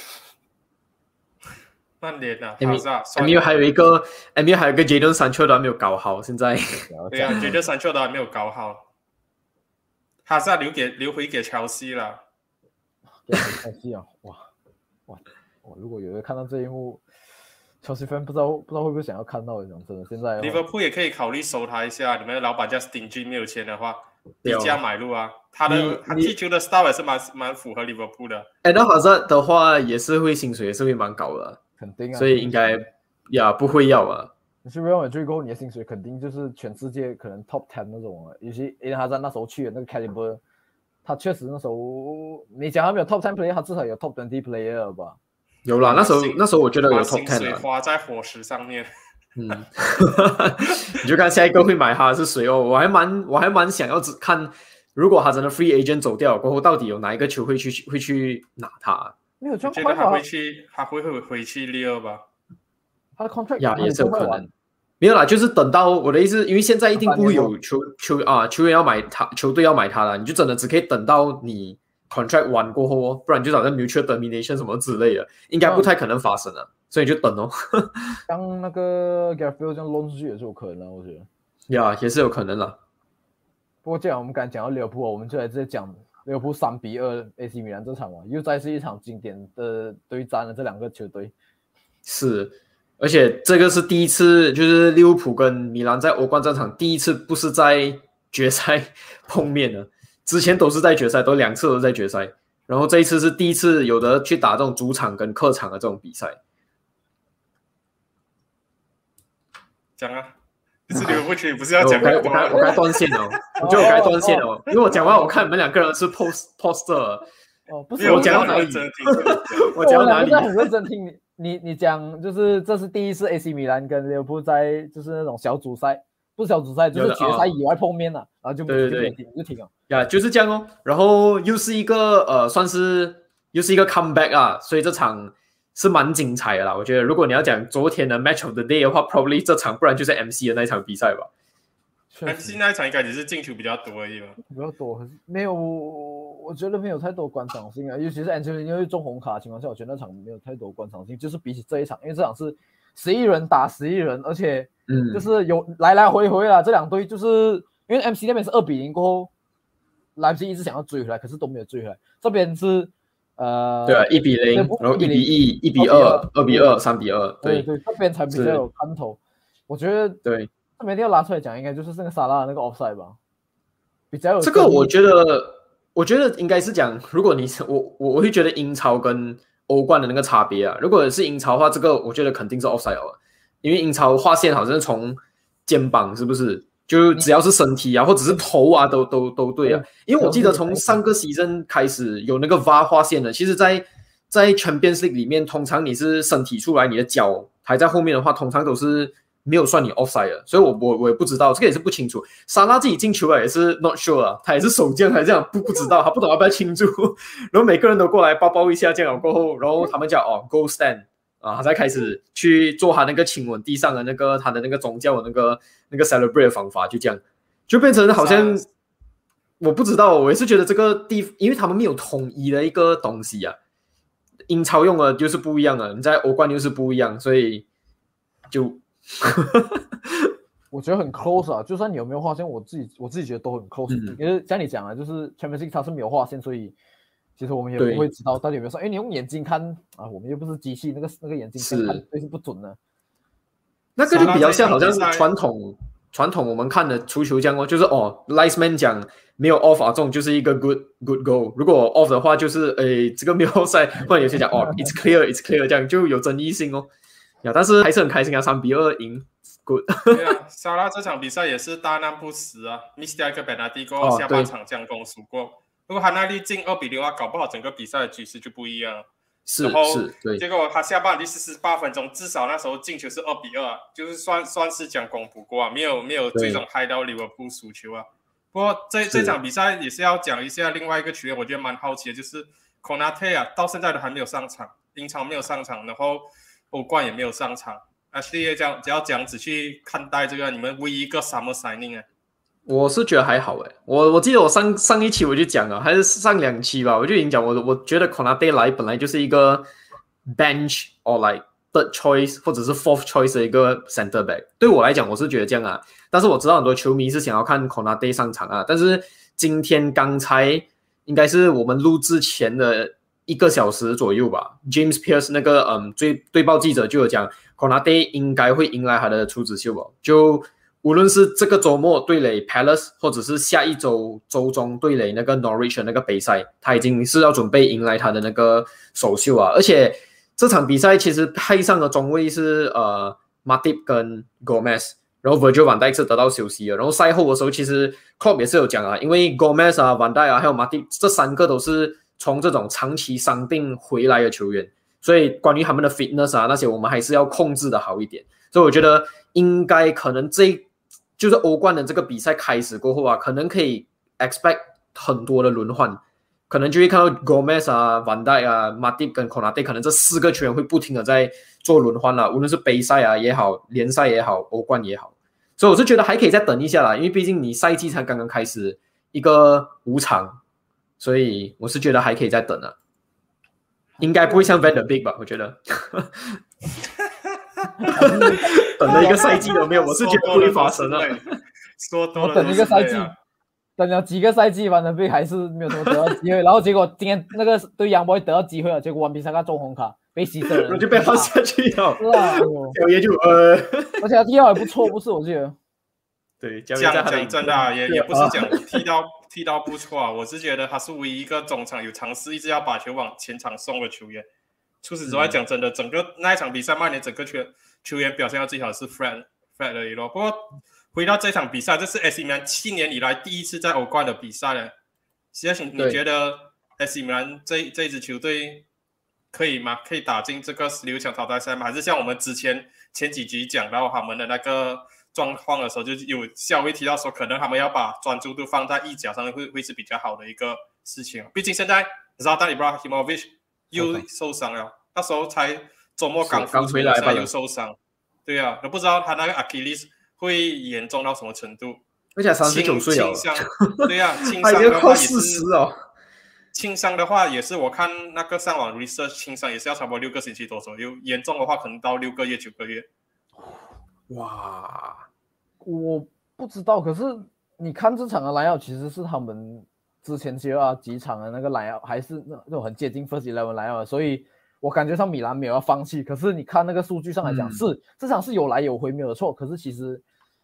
曼联啊 ，MU 还有一个 Jadon Sancho 都还没有搞好，现在对啊 ，Jadon Sancho 都还没有搞好，哈萨留回给乔西了。 乔西啊，哇！如果有人看到这一幕，乔西 fan 不知道会不会想要看到，讲真的，现在 Liverpool 也可以考虑收他一下。你们的老板叫 Stingy， 没有钱的话，低价买入啊。他踢球的 style 也是蛮符合 Liverpool 的。 那好像的话也是会薪水也是会蛮高的， 肯定啊。 所以应该不会要啊。 你去 Real Madrid 过后，你的薪水肯定就是全世界可能 top 10那种啊。尤其因为他在那时候去的那个 caliber。 他确实那时候你讲他没有 top 10 player， 他至少有 top 20 player 吧？ 有啦，那时候我觉得有 top 10 水花在火石上面。 你就看下一个会买他的是谁哦。我还蛮想要看，如果他真的 free agent 走掉过后，到底有哪一个球会去拿他？ 没有， 我觉得他会回去利尔吧。 他的 contract 也是有可能。没有啦，就是等到我的意思，因为现在一定不会有球员要买他，球队要买他了，你就真的只可以等到你 contract 完过后哦，不然就好像 mutual termination 什么之类的，应该不太可能发生了，所以就等哦。 像那个 Gareth Bale 这样 loan 出去也是有可能，我觉得。 也是有可能啦。 不过既然我们刚才讲到利物浦，我们就来直接讲利物浦3-2 AC 米兰这场嘛，又再是一场经典的对战了，这两个球队。 是。而且这个是第一次，就是利物浦跟米兰在欧冠战场第一次不是在决赛碰面了，之前都是在决赛，都2次都在决赛，然后这一次是第一次有的去打这种主场跟客场的这种比赛。 讲啊，是利物浦区不是要讲？ 我该断线了，我觉得我该断线了，因为我讲完我看你们两个人是 poster。 不是我讲到哪里？我讲到哪里？ 我很认真听你讲，就是这是第一次 AC 米兰跟利物浦在就是那种小组赛，不是小组赛，就是决赛以外碰面了，然后就对就停了。 呀，就是这样哦。然后又是一个算是又是一个 comeback 啊，所以这场是蛮精彩的啦。我觉得如果你要讲昨天的 match of the day 的话 ，probably 这场，不然就是 MC 的那一场比赛吧。 MC 那一场应该只是进球比较多而已吧？ 比较多，可是没有，我觉得没有太多观赏性啊。尤其是 Anthony 因为中红卡的情况下，我觉得那场没有太多观赏性。就是比起这一场，因为这场是11人打11人，而且就是有来来回回啦。这两队就是因为 MC 那边是2-0过后，莱比锡一直想要追回来，可是都没有追回来。这边是对啊，1-0，然后1-1、1-2、2-2、3-2，对， 这边才比较有看头。我觉得对。他们一定要拉出来讲，应该就是那个沙拉的那个 offside 吧，比较有这个我觉得应该是讲，如果你我会觉得英超跟欧冠的那个差别啊，如果是英超的话，这个我觉得肯定是 offside 了，因为英超划线好像是从肩膀是不是？就只要是身体啊，或者是头啊，都对啊。因为我记得从上个season开始有那个 VAR 划线的，其实在 Champions League 里面，通常你是身体出来，你的脚还在后面的话，通常都是没有算你 offside 的，所以我也不知道，这个也是不清楚。沙拉自己进球了也是 not sure 啊，他也是守将，还这样不知道，他不懂要不要庆祝。然后每个人都过来抱一下，这样过后，然后他们讲goal stand 啊，他才开始去做他那个亲吻地上的那个他的那个宗教的那个 celebrate 的方法，就这样，就变成好像我不知道，我也是觉得这个因为他们没有统一的一个东西啊，英超用的就是不一样了，你在欧冠又是不一样，所以就。 我觉得很 close 啊，就算你有没有划线，我自己觉得都很 close。因为像你讲啊，就是 Champions League 它是没有划线，所以其实我们也不会知道到底有没有算。因为你用眼睛看啊，我们又不是机器，那个眼睛看对是不准的。 那个就比较像好像是传统我们看的足球这样哦，就是Linesman 讲没有 off 啊，这种就是一个 good goal。如果 off 的话，就是这个没有 offside， 或者有些讲it's clear 这样就有争议性哦。但是还是很开心啊，3-2赢 ，good。 对啊，沙拉这场比赛也是大难不死啊 ，miss 掉一个 penalty 过后，下半场将功赎过。如果他那粒进2-0的话，搞不好整个比赛的局势就不一样了。 是，对。 结果他下半第48分钟，至少那时候进球是2-2，就是算是将功补过啊，没有最终害到利物浦输球啊。不过这场比赛也是要讲一下另外一个球员，我觉得蛮好奇的，就是 Konate 啊，到现在都还没有上场，英超没有上场，然后欧冠也没有上场。Ashley 只要这样子去看待这个你们唯一一个 summer signing 啊。 我是觉得还好诶，我记得我上一期我就讲了，还是上2期吧，我就已经讲我觉得 Konate 来本来就是一个 bench or like third choice 或者是 fourth choice 的一个 center back。对我来讲我是觉得这样啊，但是我知道很多球迷是想要看 Konate 上场啊，但是今天刚才应该是我们录制前的1个小时左右吧 ，James Pearce 那个对报记者就有讲 ，Konate 应该会迎来他的处子秀吧。就无论是这个周末对垒 Palace， 或者是下一周周中对垒那个 Norwich 的那个杯赛，他已经是要准备迎来他的那个首秀啊。而且这场比赛其实派上的中卫是Matip 跟 Gomez， 然后 Virgil van Dijk 是得到休息了，然后赛后的时候其实 Klopp 也是有讲啊，因为 Gomez 啊 Van Dijk 啊还有 Matip 这3个都是从这种长期伤病回来的球员，所以关于他们的 fitness 啊那些我们还是要控制的好一点，所以我觉得应该可能就是欧冠的这个比赛开始过后啊，可能可以 expect 很多的轮换，可能就会看到 Gomez 啊 Van Dijk 啊 Matip 跟 Konate 可能这4个球员会不停的在做轮换啦，无论是杯赛啊也好，联赛也好，欧冠也好，所以我是觉得还可以再等一下啦，因为毕竟你赛季才刚刚开始一个5场，所以我是觉得还可以再等啊，应该不会像 Van de Beek 吧，我觉得等了一个赛季都没有，我是觉得不会发生了。 说多了， 我等一个赛季，等了几个赛季，Van de Beek还是没有什么得到机会，然后结果今天那个对杨波得到机会了，结果完比赛他中红卡。被牺牲了， 就被放下去了。 是啊， 小爷就而且他踢到也不错，不是我记得。 对，讲真的啊，也不是讲踢到不错啊，我是觉得他是唯一一个中场有尝试一直要把球往前场送的球员。除此之外，讲真的，整个那一场比赛，曼联整个球员表现到最好是 Fred 而已咯。不过回到这场比赛，这是 AC 米兰7年以来第一次在欧冠的比赛了。实际上，你觉得 AC 米兰这一支球队？可以吗？可以打进这个16强淘汰赛吗？还是像我们前几集讲到他们的那个状况的时候，就有稍微提到说，可能他们要把专注度放在意甲上会是比较好的一个事情。毕竟现在 Zlatan Ibrahimovic 又受伤了，那时候才周末刚复出，现在又受伤。对啊，都不知道他那个 Achilles 会严重到什么程度。 而且39岁了， 对啊，轻伤的话也是 40哦。 轻伤的话也是，我看那个上网 research， 轻伤也是要差不多6个星期多左右，严重的话可能到6个月、9个月。 哇， 我不知道，可是你看这场的莱奥其实是他们之前几场的那个莱奥，还是那种很接近 First 11莱奥，所以我感觉上米兰没有要放弃。可是你看那个数据上来讲，这场是有来有回没有错，可是其实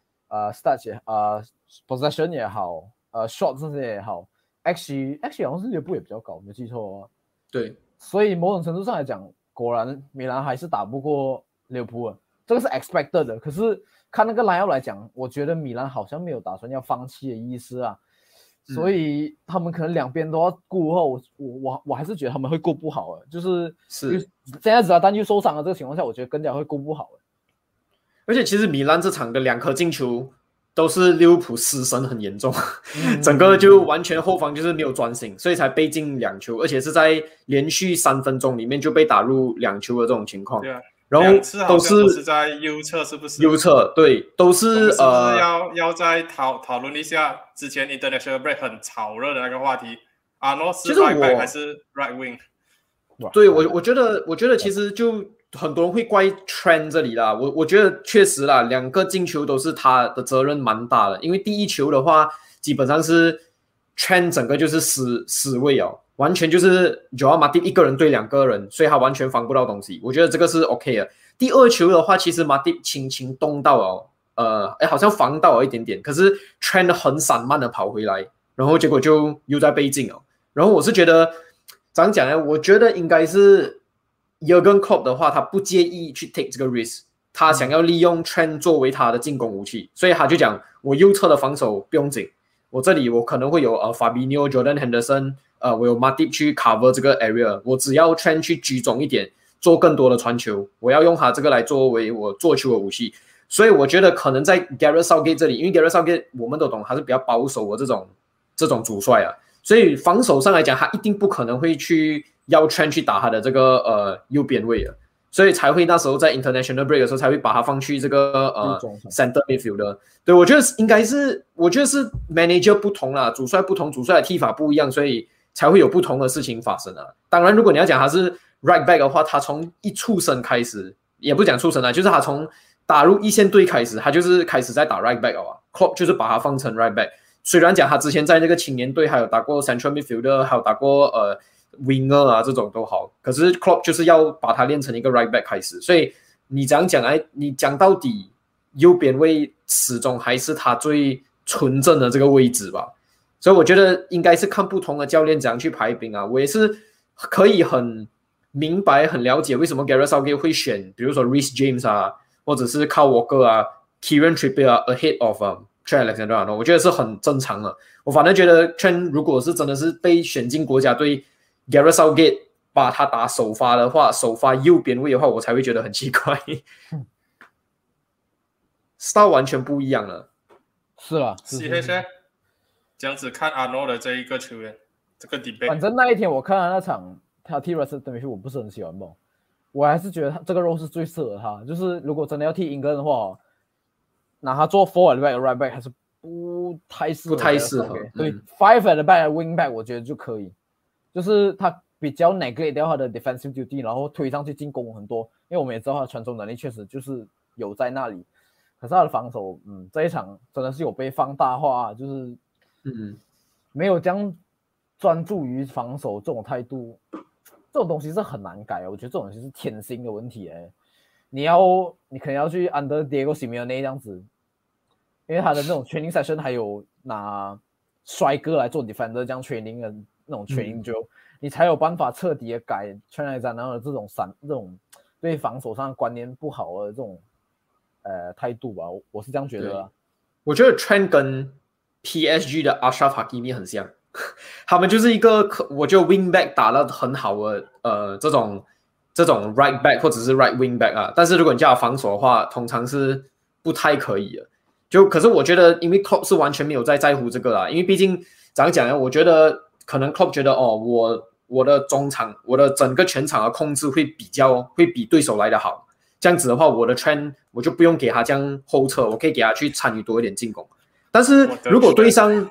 stats 也possession 也好，shot 这些也好。Actually 好像是利物浦也比较高，没记错哦。 对， 所以某种程度上来讲，果然米兰还是打不过利物浦，这个是 expected 的。可是看那个莱奥来讲，我觉得米兰好像没有打算要放弃的意思啊，所以他们可能两边都要顾后，我还是觉得他们会顾不好的，就是现在只要单又受伤的这个情况下，我觉得更加会顾不好的。 而且其实米兰这场的2颗进球。都是利物浦失神很严重，整个就完全后防就是没有专心，所以才被进2球，而且是在连续3分钟里面就被打入2球的这种情况。 对啊， 然后都是在右侧，是不是？ 右侧对，都是要再讨论一下之前 International Break 很炒热的那个话题，阿诺是 right back 还是 right wing？ 对，我觉得其实就。很多人会怪 Trent 这里啦，我觉得确实啦，2个进球都是他的责任蛮大的，因为第一球的话，基本上是 Trent 整个就是死位哦，完全就是 Joao Matip 一个人对2个人，所以他完全防不到东西，我觉得这个是 OK 的。第2球的话，其实 Matip 轻轻动到好像防到了一点点，可是 Trent 很散漫的跑回来，然后结果就又在被进哦。然后我是觉得怎样讲呢？我觉得应该是。Jurgen Klopp 的话，他不介意去 take 这个 risk， 他想要利用 Trent 作为他的进攻武器，所以他就讲我右侧的防守不用紧，我这里我可能会有Fabinho、Jordan Henderson， 我有 Matip 去 cover 这个 area， 我只要 Trent 去居中一点，做更多的传球，我要用他这个来作为我做球的武器，所以我觉得可能在 Gareth Southgate 这里，因为 Gareth Southgate 我们都懂他是比较保守的这种主帅啊，所以防守上来讲，他一定不可能会去。要 Trent 去打他的这个右边位了，所以才会那时候在 International Break 的时候才会把他放去这个Center Midfield 的。对，我觉得应该是，我觉得是 Manager 不同啦，主帅不同，主帅的踢法不一样，所以才会有不同的事情发生啊。当然，如果你要讲他是 Right Back 的话，他从一出生开始，也不讲出生啦，就是他从打入一线队开始，他就是开始在打 Right Back 啊。Klopp 就是把他放成 Right Back， 虽然讲他之前在那个青年队还有打过 Central Midfield， 还有打过winger 啊这种都好，可是 Klopp 就是要把它练成一个 right back 开始，所以你这样讲你讲到底右边位始终还是他最纯正的这个位置吧，所以我觉得应该是看不同的教练怎样去排兵啊，我也是可以很明白很了解为什么 Gareth Southgate 会选比如说 Reece James 啊，或者是 Kyle Walker 啊 Kieran Trippier ahead of Trent Alexander-Arnold， 我觉得是很正常的。我反正觉得 Trent 如果是真的是被选进国家队 ，Gareth Southgate 把他打首发的话，首发右边位的话，我才会觉得很奇怪。style 完全不一样了。 是啦， 这样子看 Arnold 的这一个球员，这个 debate。 反正那一天我看了那场他踢 Russell Demichi， 我不是很喜欢嘛，我还是觉得这个 role 是最适合他。就是如果真的要踢英格兰的话，拿他做 forward back、right back 还是不太适合。对，5 at the back、wing back 我觉得就可以，就是他比较 neglect 掉他的 defensive duty， 然后推上去进攻很多。因为我们也知道他的传中能力确实就是有在那里，可是他的防守，这一场真的是有被放大化，就是没有这样专注于防守这种态度，这种东西是很难改。我觉得这种东西是天性的问题。你可能要去 under Diego Simeone 这样子，因为他的那种 training session 还有拿帅哥来做 defender 这样 training 的那种 training 就你才有办法彻底的改 Trent Alexander 的这种对防守上观念不好的这种态度吧，我是这样觉得啦。 我觉得 Trent 跟 PSG 的 Achraf Hakimi 很像，他们就是一个我觉得 wing back 打得很好的这种 right back 或者是 right wing back 啊，但是如果你叫他防守的话，通常是不太可以的。可是我觉得，因为 Klopp 是完全没有在乎这个啦，因为毕竟怎样讲呢？我觉得可能 Klopp 觉得我的中场，我的整个全场的控制会比对手来得好。这样子的话，我的 Trent 我就不用给他这样后撤，我可以给他去参与多一点进攻。但是如果对上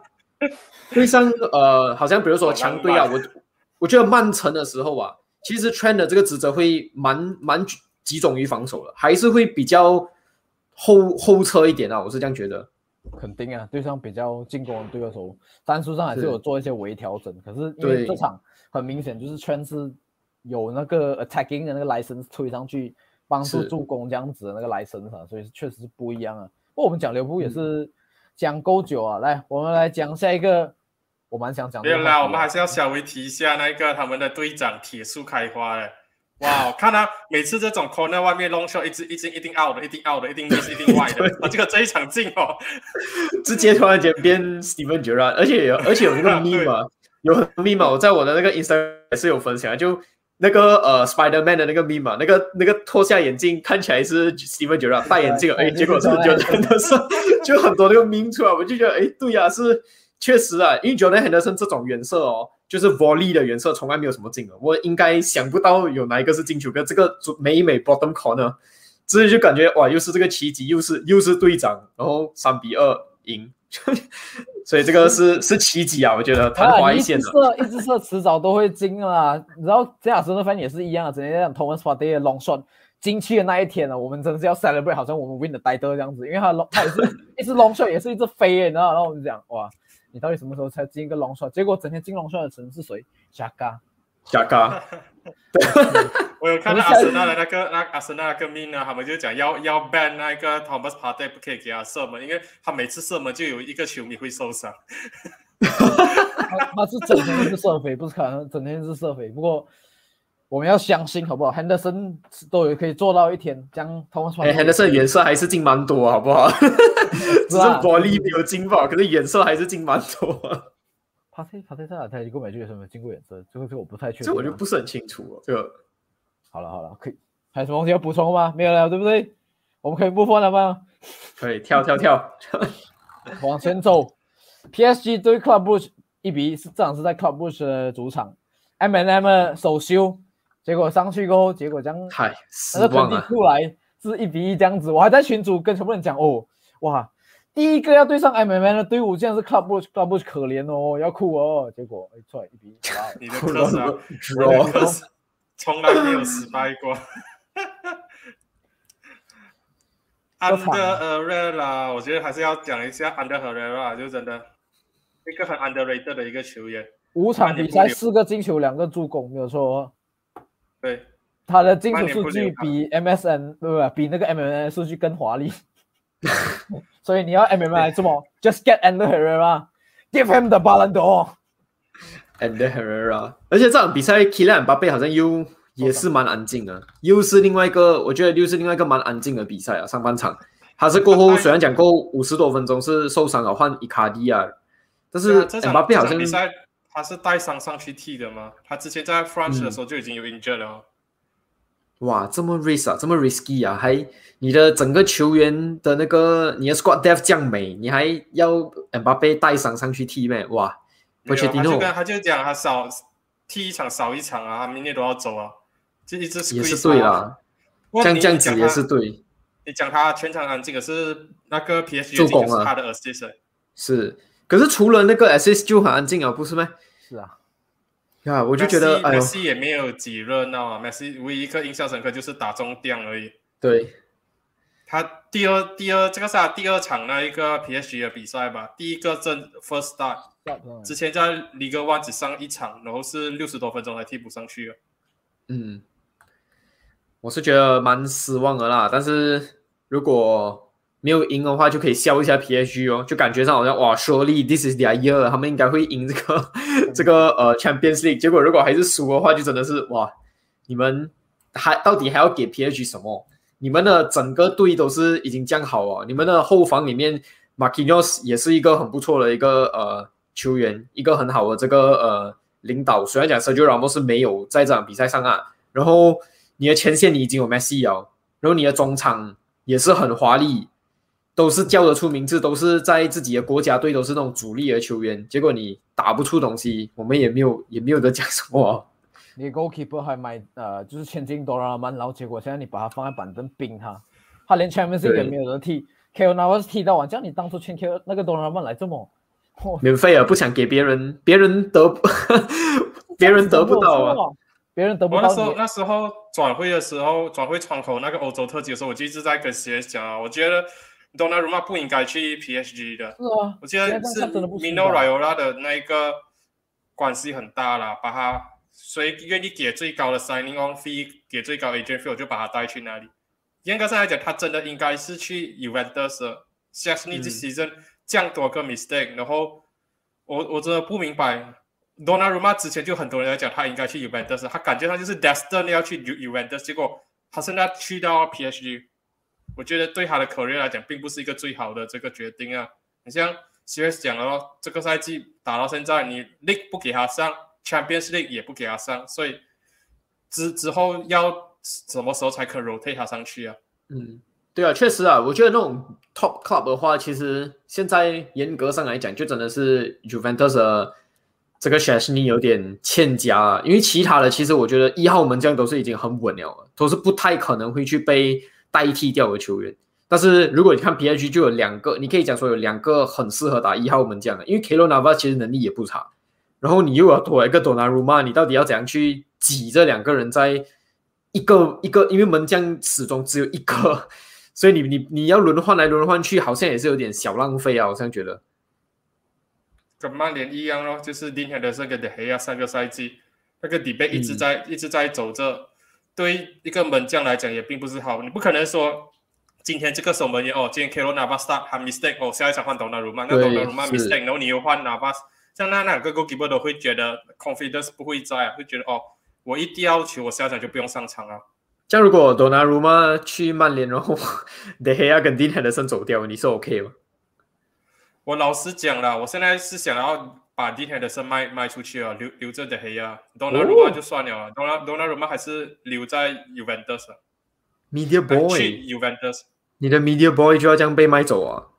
好像比如说强队啊，我觉得曼城的时候啊，其实 Trent 的这个职责会蛮集中于防守的，还是会比较后撤一点啊，我是这样觉得。 肯定啊，对上比较进攻的对手，战术上还是有做一些微调整。可是因为这场很明显就是 Trent 是有那个 attacking 的那个 license 推上去帮助助攻这样子的那个 license 啊，所以确实是不一样啊。不过我们讲利物浦也是讲够久啊，来我们来讲下一个，我蛮想讲的。 没有啦，我们还是要稍微提一下那个他们的队长铁树开花了。哇，看他每次这种 corner 外面 long shot 一定 out 的，一定 out 的，一定 miss 一定 wide 的。这一场进直接突然间变 Steven Gerrard， 而且有那个 meme 啊，有很多 meme 我在我的那个 Instagram 也是有分享，就那个Spider-Man 的那个 meme 啊，那个脱下眼镜看起来是 Steven Gerrard 戴眼镜，结果是 Jordan Henderson， 就很多那个 meme 出来，我就觉得对啊，是确实啊，因为 Jordan Henderson 这种远射就是 volley 的远射从来没有什么进的，我应该想不到有哪一个是进球，跟这个每 bottom corner， 所以就感觉哇，又是这个奇迹，又是队长，然后3-2赢，所以这个是奇迹啊，我觉得昙花一现的。 一直射迟早都会进啊，你知道这亚斯的fan也是一样的，整天讲 Thomas Partey 的 long shot 进去的那一天我们真的是要 celebrate， 好像我们 win 的 title 这样子，因为他也是一直 long shot 也是一直飞你知道，然后我们讲哇。你到底什么时候才进一个 long shot？ 结果整天进 long shot 的人是谁？贾嘎。 我有看到阿森纳的那个阿森纳那个 meme 啊，他们就讲要 ban 那个 Thomas Partey 不可以给他射门，因为他每次射门就有一个球迷会受伤。 他是整天是射飞，不是可能整天是射飞。不过我们要相信好不好 ？Henderson 都有可以做到一天，这样 Thomas Partey。Henderson 远射还是进蛮多，好不好？只是玻璃没有进爆，可是远射还是进蛮多。 Partey 在哪台过美剧有没有进过远射？这个我不太确定。 这我就不是很清楚这个。 好了，可以。还有什么东西要补充吗？没有了，对不对？我们可以move on了吗？ 可以跳， 往前走。PSG 对 Club Brugge 1-1，这场是在 Club Brugge 的主场 ，M&M 首秀，结果上去过后，结果这样， 失望啊！ 出来是1-1这样子，我还在群组跟全部人讲哇，第一个要对上 M&M 的队伍，竟然是 Club Brugge 可怜要哭结果出来1-1， 你的特色从来没有失败过。Ander Herrera 我觉得还是要讲一下 Ander Herrera 就真的一个很 underrated 的一个球员 ，5场比赛4个进球2个助攻，没有错。 对， 他的进球数据比 MSN 比那个 MMN 数据更华丽。所以你要 MMN 来做么 ？Just get Ander Herrera, give him the Ballon d'Or。Ander Herrera， 而且这场比赛 Kylian Mbappé 好像也是蛮安静的，又是另外一个，我觉得又是另外一个蛮安静的比赛啊。上半场他是过后虽然讲过50多分钟是受伤了换伊卡迪啊，但是姆巴佩好像比赛他是带伤上去踢的吗？他之前在 France 的时候就已经有 injured 了。 哇，这么 risk 啊，这么 risky 啊，还你的整个球员的那个你的 squad depth 降美，你还要姆巴佩带伤上去踢咩？哇， 他就讲他少踢一场少一场啊，他明年都要走啊，就一直也是对啦，这样子也是对。 你讲他全场安静，可是那个 PSG 助攻啊，他的 assist 是，可是除了那个 assist 就很安静啊，不是吗？ 是啊， 呀，我就觉得 Messi 也没有几热闹啊 ，Messi 唯一一个印象深刻就是打中钉而已。 对， 他第二场那一个 PSG 的比赛吧，第一个first start， 之前在 Ligue 1只上一场，然后是60多分钟才替补上去了。 我是觉得蛮失望的啦，但是如果没有赢的话，就可以笑一下 PSG 哦，就感觉上好像哇 ，surely this is their year， 他们应该会赢这个Champions League。结果如果还是输的话，就真的是哇，你们到底还要给 PSG 什么？你们的整个队都是已经这样好哦，你们的后防里面 Marquinhos 也是一个很不错的一个球员，一个很好的这个领导。虽然讲 Sergio Ramos 是没有在这场比赛上啊，然后你的前线你已经有 Messi 了，然后你的中场也是很华丽，都是叫得出名字，都是在自己的国家队都是那种主力的球员，结果你打不出东西，我们也没有得讲什么。 你 goalkeeper 还买就是签进多拉曼，然后结果现在你把他放在板凳冰他连 Champions League 也没有得踢 ，Keylor Navas 踢到完，这样你当初签 Keylor 那个多拉曼来这么免费啊，不想给别人得不到啊。 别人得不到。 那时候转会的时候，转会窗口那个欧洲特辑的时候，我就一直在跟 CS 讲啊，我觉得 Donnarumma 不应该去 PSG 的。 是啊， 我觉得是 Mino Raiola 的那一个关系很大啦，把他谁愿意给最高的 signing on fee， 给最高 agent fee， 我就把他带去那里。严格上来讲，他真的应该是去 Juventus 的。Szczesny 这 season 这样多个 mistake， 然后我真的不明白。Donnarumma 之前就很多人在讲他应该去 Juventus， 他感觉他就是 destined 要去 Juventus， 结果他现在去到 PSG， 我觉得对他的 career 来讲并不是一个最好的这个决定啊。你像 CS 讲了，这个赛季打到现在，你 League 不给他上 ，Champions League 也不给他上，所以之后要什么时候才可 rotate 他上去啊？ 对啊，确实啊，我觉得那种 top club 的话，其实现在严格上来讲，就真的是 Juventus 的这个 Szczesny 有点欠佳啊，因为其他的其实我觉得1号门将都是已经很稳了，都是不太可能会去被代替掉的球员。但是如果你看 PSG 就有2个，你可以讲说有2个很适合打1号门将的，因为 Keylor Navas 其实能力也不差，然后你又要多一个 Donnarumma， 你到底要怎样去挤这2个人在一个，因为门将始终只有一个，所以你要轮换来轮换去，好像也是有点小浪费啊，我好像觉得。 跟曼联一样咯，就是 Dean Henderson 跟 De Gea 上个赛季那个 debate 一直在走着，对一个门将来讲也并不是好。你不可能说今天这个守门员今天 Keylor Navas start 他 mistake 下一场换 Donnarumma， 那 Donnarumma mistake， 然后你又换 Navas， 像那2个 goalkeeper 都会觉得 confidence 不会在会觉得我一定要求我下一场就不用上场啊。 这样如果 Donnarumma 去曼联，然后 De Gea 跟 Dean Henderson 走掉，你是 OK 吗？ 我老实讲啦，我现在是想要把 Dean Henderson 卖出去啊，留着 De Gea，Donnarumma 就算了，Donnarumma 还是留在 Juventus。Media Boy 去 Juventus， 你的 Media Boy 就要这样被卖走啊？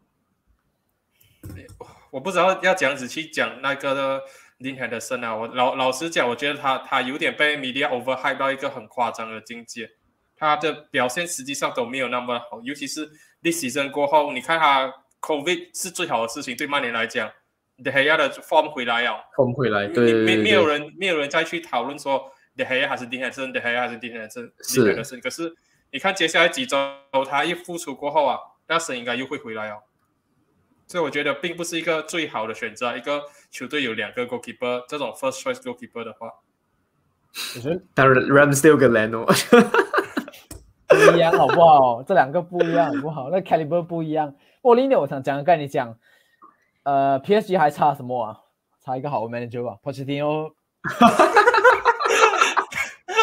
我不知道要这样子去讲那个 Dean Henderson 啊，我老实讲，我觉得他有点被 Media overhype 到一个很夸张的境界，他的表现实际上都没有那么好，尤其是 this season 过后，你看他。COVID 是最好的事情，对曼联来讲 ，De Gea 的 form 回来了 ，form 回来，对， 没有人再去讨论说 De Gea 还是 Dean Henderson，De Gea 还是 Dean Henderson，可是你看接下来几周他一复出过后啊，那声应该又会回来哦，所以我觉得并不是一个最好的选择，一个球队有2个 goalkeeper 这种 first choice goalkeeper 的话， 当然 Ramsdale 跟 Leno 不一样好不好？这2个不一样好不好？那 caliber 不一样。另一点我想讲，跟你讲，PSG 还差什么啊？差一个好的 manager 吧 ，Pochettino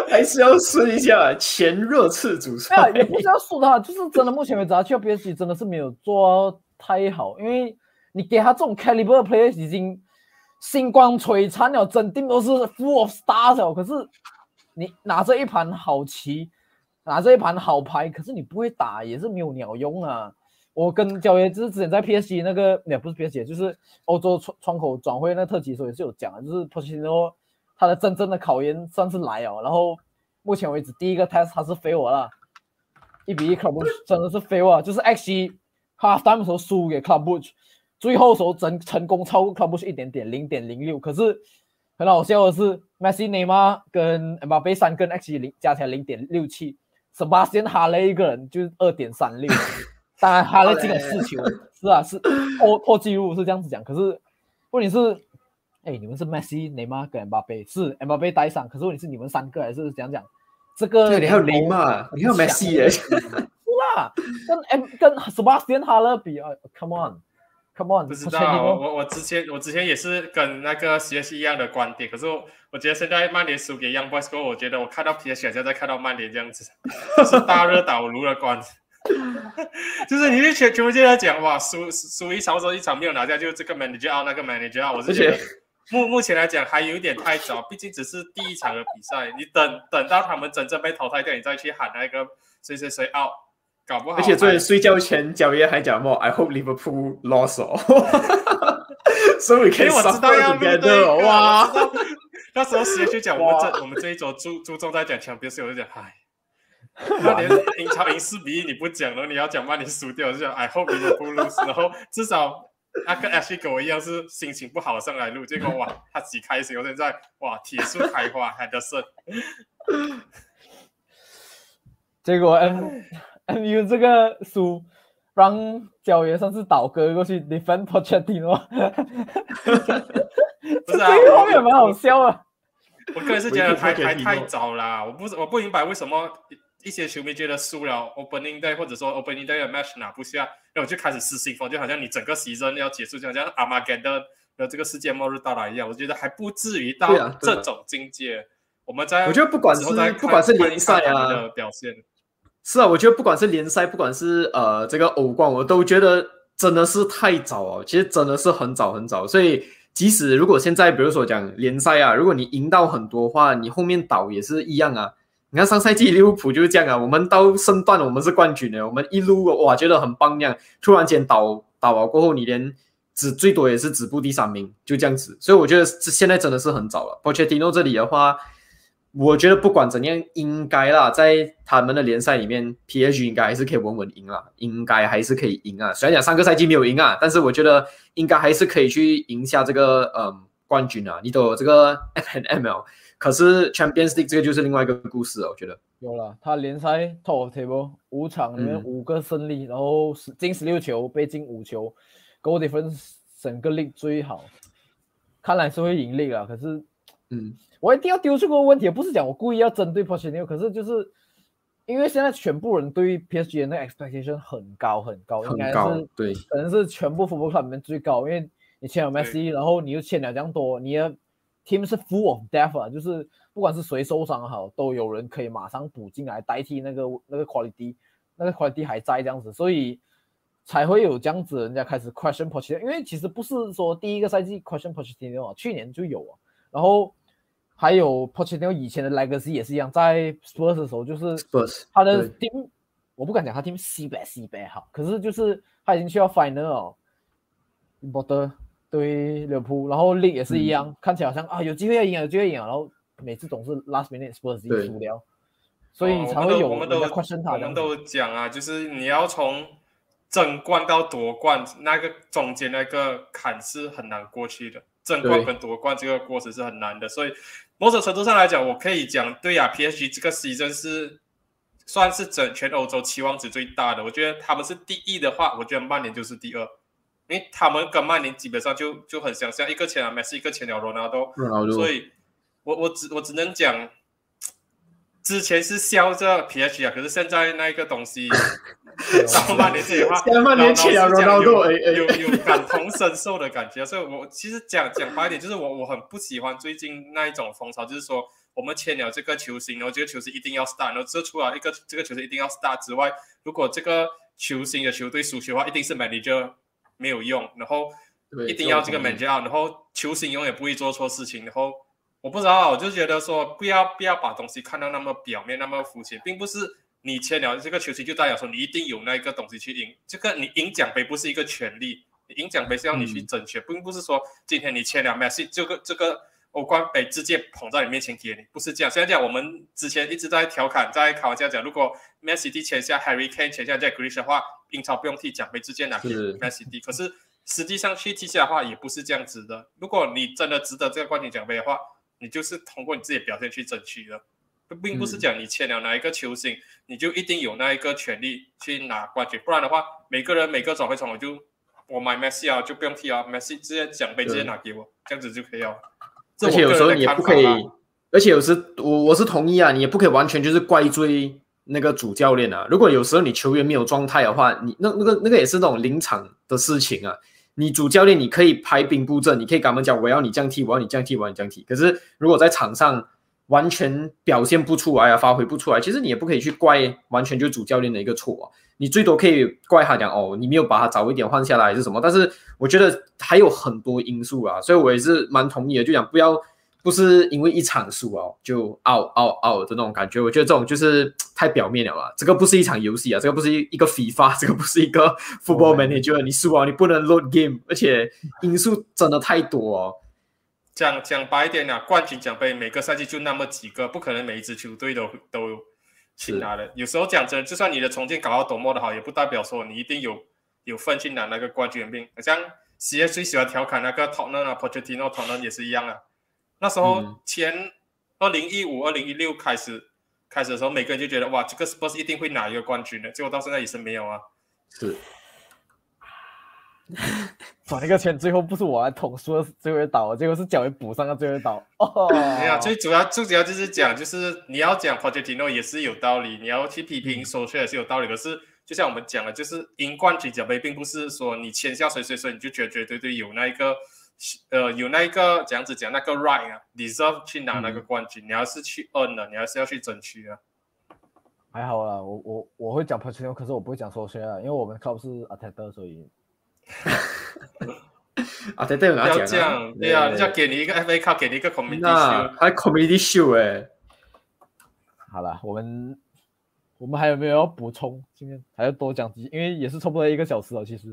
还是要顺一下前热刺主帅。 也不是要说他，就是真的目前为止他去 PSG 真的是没有做太好，因为你给他这种 caliber player 已经星光璀璨了，整队都是 full of stars 了，可是你拿着一盘好棋，拿着一盘好牌，可是你不会打也是没有鸟用啊。我跟焦爷之前在 PSG 那个也不是 PSG， 就是欧洲窗口转会那个特辑的时候也是有讲的，就是 Pochettino 他的真正的考验算是来了，然后目前为止第一个 test 他是 fail 了，1-1 Club Brugge 真的是 fail 啊，就是 XG half time 的时候输给 Club Brugge， 最后的时候成功超过 Club Brugge 一点点 0.06， 可是很好笑的是 Messi、内马尔跟 Mbappé 3跟 XG 加起来 0.67， Sebastian Haller 一个人就是 2.36。当然哈勒进了4球，是啊，是破纪录是这样子讲。可是问题是，你们是 Messi、内马尔跟 Mbappé， 是 Mbappé 带上，可是问题是你们3个还是怎样讲？这个对，你还有内马尔，你还有 Messi 耶，是啦，跟 Sebastian Haller 比啊 ，Come on， 不知道，我之前也是跟那个 CS 一样的观点，可是我觉得现在曼联输给 Young Boys 后，我觉得我看到 PSG 像在看到曼联这样子，是大热倒炉的观点。就是你全部就在讲哇，输一场或者一场没有拿下，就这个 manager out 那个 manager out， 我是觉得目前来讲还有一点太早，毕竟只是第一场的比赛，你等到他们真正被淘汰掉，你再去喊那个谁 out， 搞不好。 而且昨天睡觉前，焦爷还讲I hope Liverpool lost 哦，so we can suffer together。哇， 那时候时间就讲我们这一周注重在讲强，别是我就讲嗨。曼联英超赢4-1你不讲了，你要讲曼联输掉，就讲 I hope Liverpool lose， 然后至少那个 Ashley 跟我一样是心情不好上来录，结果哇他极开心，我现在哇铁树开花Henderson， 结果 MU 这个输让焦爷算是倒戈过去 defend Pochettino， 不是啊， 这个后面蛮好笑啊。 我个人是觉得太早啦，我不明白为什么一些球迷觉得输了 Opening Day 或者说 Opening Day 的 match 拿不下，然后就开始失心疯，就好像你整个 season 要结束，就好像 Armageddon 的这个世界末日到来一样。我觉得还不至于到这种境界。我们在我觉得不管是联赛啊的表现， 是啊，我觉得不管是联赛，不管是这个欧冠，我都觉得真的是太早哦。其实真的是很早很早，所以即使如果现在比如说讲联赛啊，如果你赢到很多的话，你后面倒也是一样啊。你看上赛季利物浦就是这样啊，我们到升段我们是冠军的，我们一路哇觉得很棒样，突然间倒了过后，你连最多也是止步第3名，就这样子。所以我觉得现在真的是很早了。Pochettino 这里的话，我觉得不管怎样，应该啦，在他们的联赛里面 ，PSG 应该还是可以稳稳赢啦，应该还是可以赢啊。虽然讲上个赛季没有赢啊，但是我觉得应该还是可以去赢下这个冠军啊。你都有这个 FNL。可是 Champions League 这个就是另外一个故事了，我觉得有了。他联赛 Top of Table 5场里面5个胜利，然后进16球，被进5球 ，Goal Difference 整个 League 最好，看来是会赢 League 啦。可是，我一定要丢出个问题，不是讲我故意要针对 Pochettino， 可是就是因为现在全部人对 PSG 的那个 expectation 很高，应该是对， 可能是全部 football club 里面最高，因为你签了 Messi， 然后你又签了这样多，你的team 是 full of depth 啊，就是不管是谁受伤好，都有人可以马上补进来代替那个 quality， 那个 quality 还在这样子，所以才会有这样子人家开始 question Pochettino， 因为其实不是说第一个赛季 question Pochettino， 去年就有啊，然后还有 Pochettino 以前的 legacy 也是一样，在 Spurs 的时候就是他的 team， 我不敢讲他 team 西北好，可是就是他已经去到 final 了 ，Border。对利物浦，然后 League 也是一样，看起来好像啊有机会要赢，然后每次总是 last minute Spurs 自己输掉，所以才会有人家 question 他。 我们都讲啊，就是你要从争冠到夺冠，那个中间那个坎是很难过去的，争冠跟夺冠这个过程是很难的，所以某种程度上来讲，我可以讲对啊 ，PSG 这个 season 是算是全欧洲期望值最大的。我觉得他们是第一的话，我觉得曼联就是第2。因为他们跟曼联基本上就很相像，一个签了 Messi， 一个签了 Ronaldo， 所以我只能讲，之前是笑着 PSG 啊，可是现在那个东西到曼联这里的话， 现在曼联签了 Ronaldo， 有感同身受的感觉，所以我其实讲白一点，就是我很不喜欢最近那一种风潮，就是说我们签了这个球星，然后这个球星一定要 start， 然后这除了这个球星一定要 start 之外，如果这个球星的球队输球的话，一定是 manager 没有用，然后一定要这个 manager， 然后球星永远不会做错事情，然后我不知道，我就觉得说不要把东西看到那么表面，那么肤浅，并不是你签了这个球星就代表说你一定有那个东西去赢，这个你赢奖杯不是一个权利，你赢奖杯是要你去争取，并不是说今天你签了 Messi 这个欧冠杯直接捧在你面前给你，不是这样。虽然讲我们之前一直在调侃，在开玩笑讲，如果 Messi 签下 Harry Kane 签下 Jack Grealish 的话，英超不用踢奖杯，直接拿给 Messi。可是实际上去踢下的话，也不是这样子的。如果你真的值得这个冠军奖杯的话，你就是通过你自己的表现去争取的，并不是讲你签了哪一个球星，你就一定有那一个权利去拿冠军。不然的话，每个人每个转会窗我买 Messi 啊，就不用踢啊 ，Messi 直接奖杯直接拿给我，这样子就可以了。 而且有时候你也不可以，而且有时我是同意啊，你也不可以完全就是怪罪那个主教练啊。如果有时候你球员没有状态的话，你那个也是那种临场的事情啊。你主教练你可以排兵布阵，你可以跟他们讲我要你这样踢，我要你这样踢，我要你这样踢。可是如果在场上完全表现不出来啊，发挥不出来，其实你也不可以去怪完全就是主教练的一个错啊。你最多可以怪他讲你没有把他早一点换下来还是什么。但是我觉得还有很多因素啊，所以我也是蛮同意的，就讲不是因为一场输就 out 的那种感觉。我觉得这种就是太表面了啦。这个不是一场游戏啊，这个不是一个 FIFA， 这个不是一个 football manager， 你输你不能 load game， 而且因素真的太多讲白一点啊，冠军奖杯每个赛季就那么几个，不可能每一支球队都去拿的。有时候讲真的，就算你的重建搞到多么的好，也不代表说你一定有份去拿那个冠军兵。好像 CS 最喜欢调侃那个 Tottenham 啊 Pochettino Tottenham 也是一样啊。那时候前2015、2016开始的时候，每个人就觉得哇，这个 Spurs 一定会拿一个冠军的，结果到现在也是没有啊。 是。 转一个圈，最后不是我来捅输了最后一刀，结果是脚也补上了最后一刀。 没有，最主要就是讲，就是你要讲 Pochettino 也是有道理，你要去批评Solskjaer也是有道理。可是就像我们讲的，就是赢冠军奖杯，并不是说你签下谁你就绝对有那一个这样子讲那个 right 啊 ，deserve 去拿那个冠军。你要是去 earn 的，你还是要去争取啊。 还好啦，我会讲 Pochettino， 可是我不会讲Solskjaer，因为我们 club 是 Arteta， 所以。 Arteta 有拿奖啊？ 这样，对啊，人家给你一个 FA Cup， 给你一个 Community Shield， 还 Community Shield 好啦，我们还有没有要补充？今天还要多讲几，因为也是差不多1个小时了，其实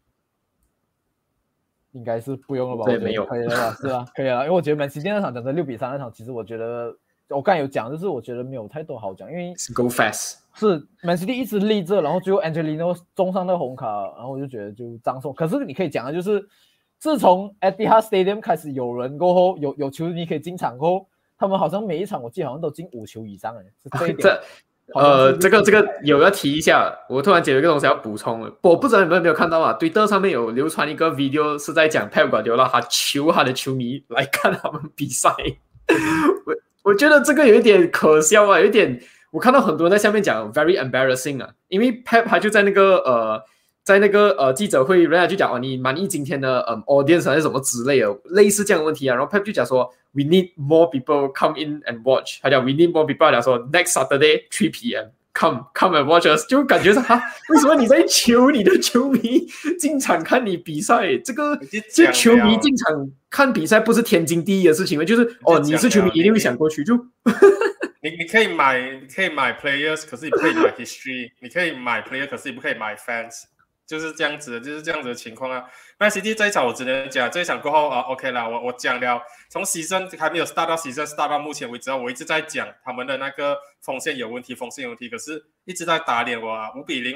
应该是不用了吧？ 对，没有， 可以了吧？是啊，可以了，因为我觉得Man City那场讲的6-3那场，其实我觉得我刚才有讲，就是我觉得没有太多好讲，因为 Go fast。 是 Man City 一直立着，然后最后 Angelino 中上那个红卡，然后我就觉得就葬送。可是你可以讲的就是，自从 Etihad Stadium 开始有人过后，有球迷可以进场过后，他们好像每一场我记得好像都进5球以上是这一点。 这个有要提一下，我突然觉得有一个东西要补充了，我不知道你们有没有看到啊？推特上面有流传一个 video 是在讲 Pep Guardiola 他求他的球迷来看他们比赛，我觉得这个有一点可笑啊，有一点。我看到很多人在下面讲 very embarrassing 啊，因为 Pep 他就在那个记者会，人家就讲你满意今天的audience 还是什么之类的，类似这样的问题啊。然后 Pep 就讲说 we need more people come in and watch， 他讲 we need more people， 他讲说 next Saturday 3 PM come and watch us， 就感觉是为什么你在求你的球迷进场看你比赛？这球迷进场看比赛不是天经地义的事情吗？就是你是球迷一定会想过去就。 你可以买 players， 可是你不可以买 history。你可以买 player， 可是你不可以买 fans， 就是这样子的情况啊。Man City 这一场我只能讲，这一场过后OK 啦，我讲了，从 season 还没有 start 到 season start 到目前为止，我一直在讲他们的那个锋线有问题，可是一直在打脸我啊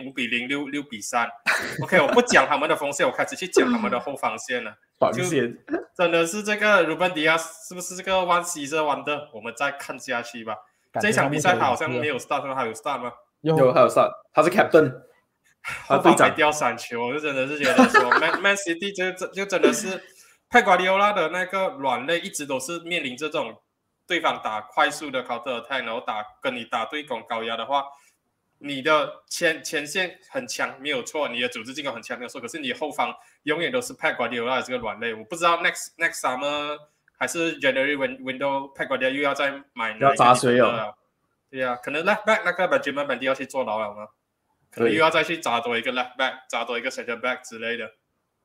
，5-0、5-0、6-3。OK， 我不讲他们的锋线，我开始去讲他们的后防线了。 防线真的是这个 Ruben Dias 是不是这个 one season wonder？ 我们再看下去吧。这一场比赛他好像没有 start， 他有 start 吗？ 有，还有 start， 他是 captain， 后防还掉3球，我就真的是觉得说 Man City 就真的是Pep Guardiola 的那个软肋，一直都是面临这种对方打快速的 counter attack， 然后跟你打对攻高压的话，你的前线很强没有错，你的组织进攻很强没有错，可是你后方永远都是Pep Guardiola 的这个软肋。我不知道 next summer 还是 January window Pep Guardiola 又要再买要砸水哦。 对啊，可能 left back 那个 Benjamin Mendy 要去坐牢了吗？可能又要再去砸多一个 left back， 砸多一个 center back 之类的。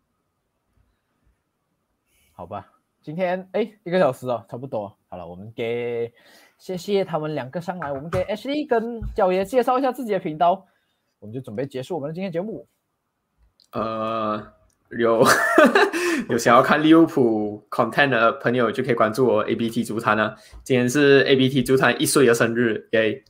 好吧，今天1个小时哦，差不多。好了，我们谢谢他们2个上来，我们给 Ashley 跟角爷介绍一下自己的频道，我们就准备结束我们的今天节目。 有想要看利物浦 content 的朋友就可以关注我 ABT 足坛啊。今天是 ABT 足坛1岁的生日，耶！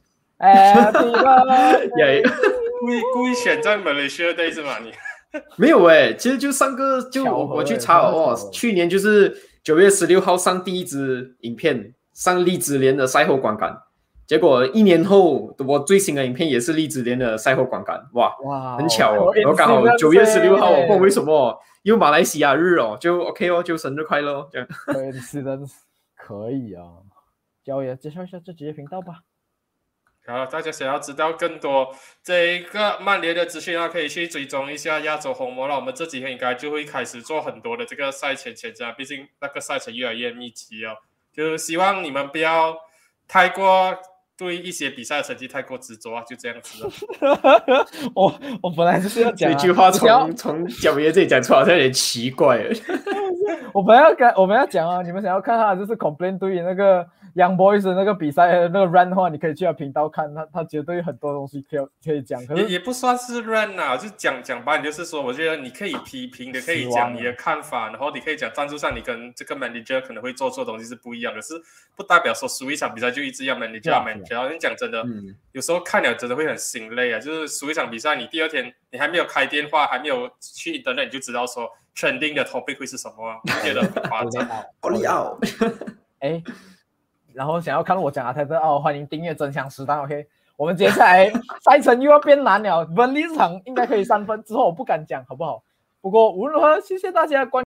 耶！ 故意选在 Malaysia Day 是吗？你没有其实就上个我去查了去年就是9月16号上第一支影片，上利兹联的赛后观感。结果1年后，我最新的影片也是利兹联的赛后观感，哇，很巧哦！然后刚好9月16号，我不知道为什么又马来西亚日哦，就 OK 哦，就生日快乐这样。 可以啊，角爷介绍一下自己的频道吧。 好，大家想要知道更多这个曼联的资讯可以去追踪一下亚洲红魔了。我们这几天应该就会开始做很多的这个赛前前瞻，毕竟那个赛程越来越密集哦。就希望你们不要太过对一些比赛的成绩太过执着就这样子了。 我本来就是要讲这句话从角爷这里讲出来好像有点奇怪了。 我们要讲啊，你们想要看他就是 complain 对于那个 Young Boys 的那个比赛的那个 run 的话，你可以去他频道看，他绝对很多东西可以讲。可是也不算是 run 啊，就讲白，就是说，我觉得你可以批评的，可以讲你的看法，然后你可以讲战术上你跟这个 manager 可能会做错的东西是不一样的，是不代表说输一场比赛就一直要 manager。你讲真的，有时候看了真的会很心累啊。就是输一场比赛，你第2天你还没有开电话，还没有去 internet， 你就知道说 trending 的 topic 会是什么啊？我觉得很夸张。 奥利奥， 然后想要看我讲泰德奥，欢迎订阅真香时代 OK。我们接下来赛程又要变难了，本场应该可以3分，之后我不敢讲好不好？不过无论如何，谢谢大家关。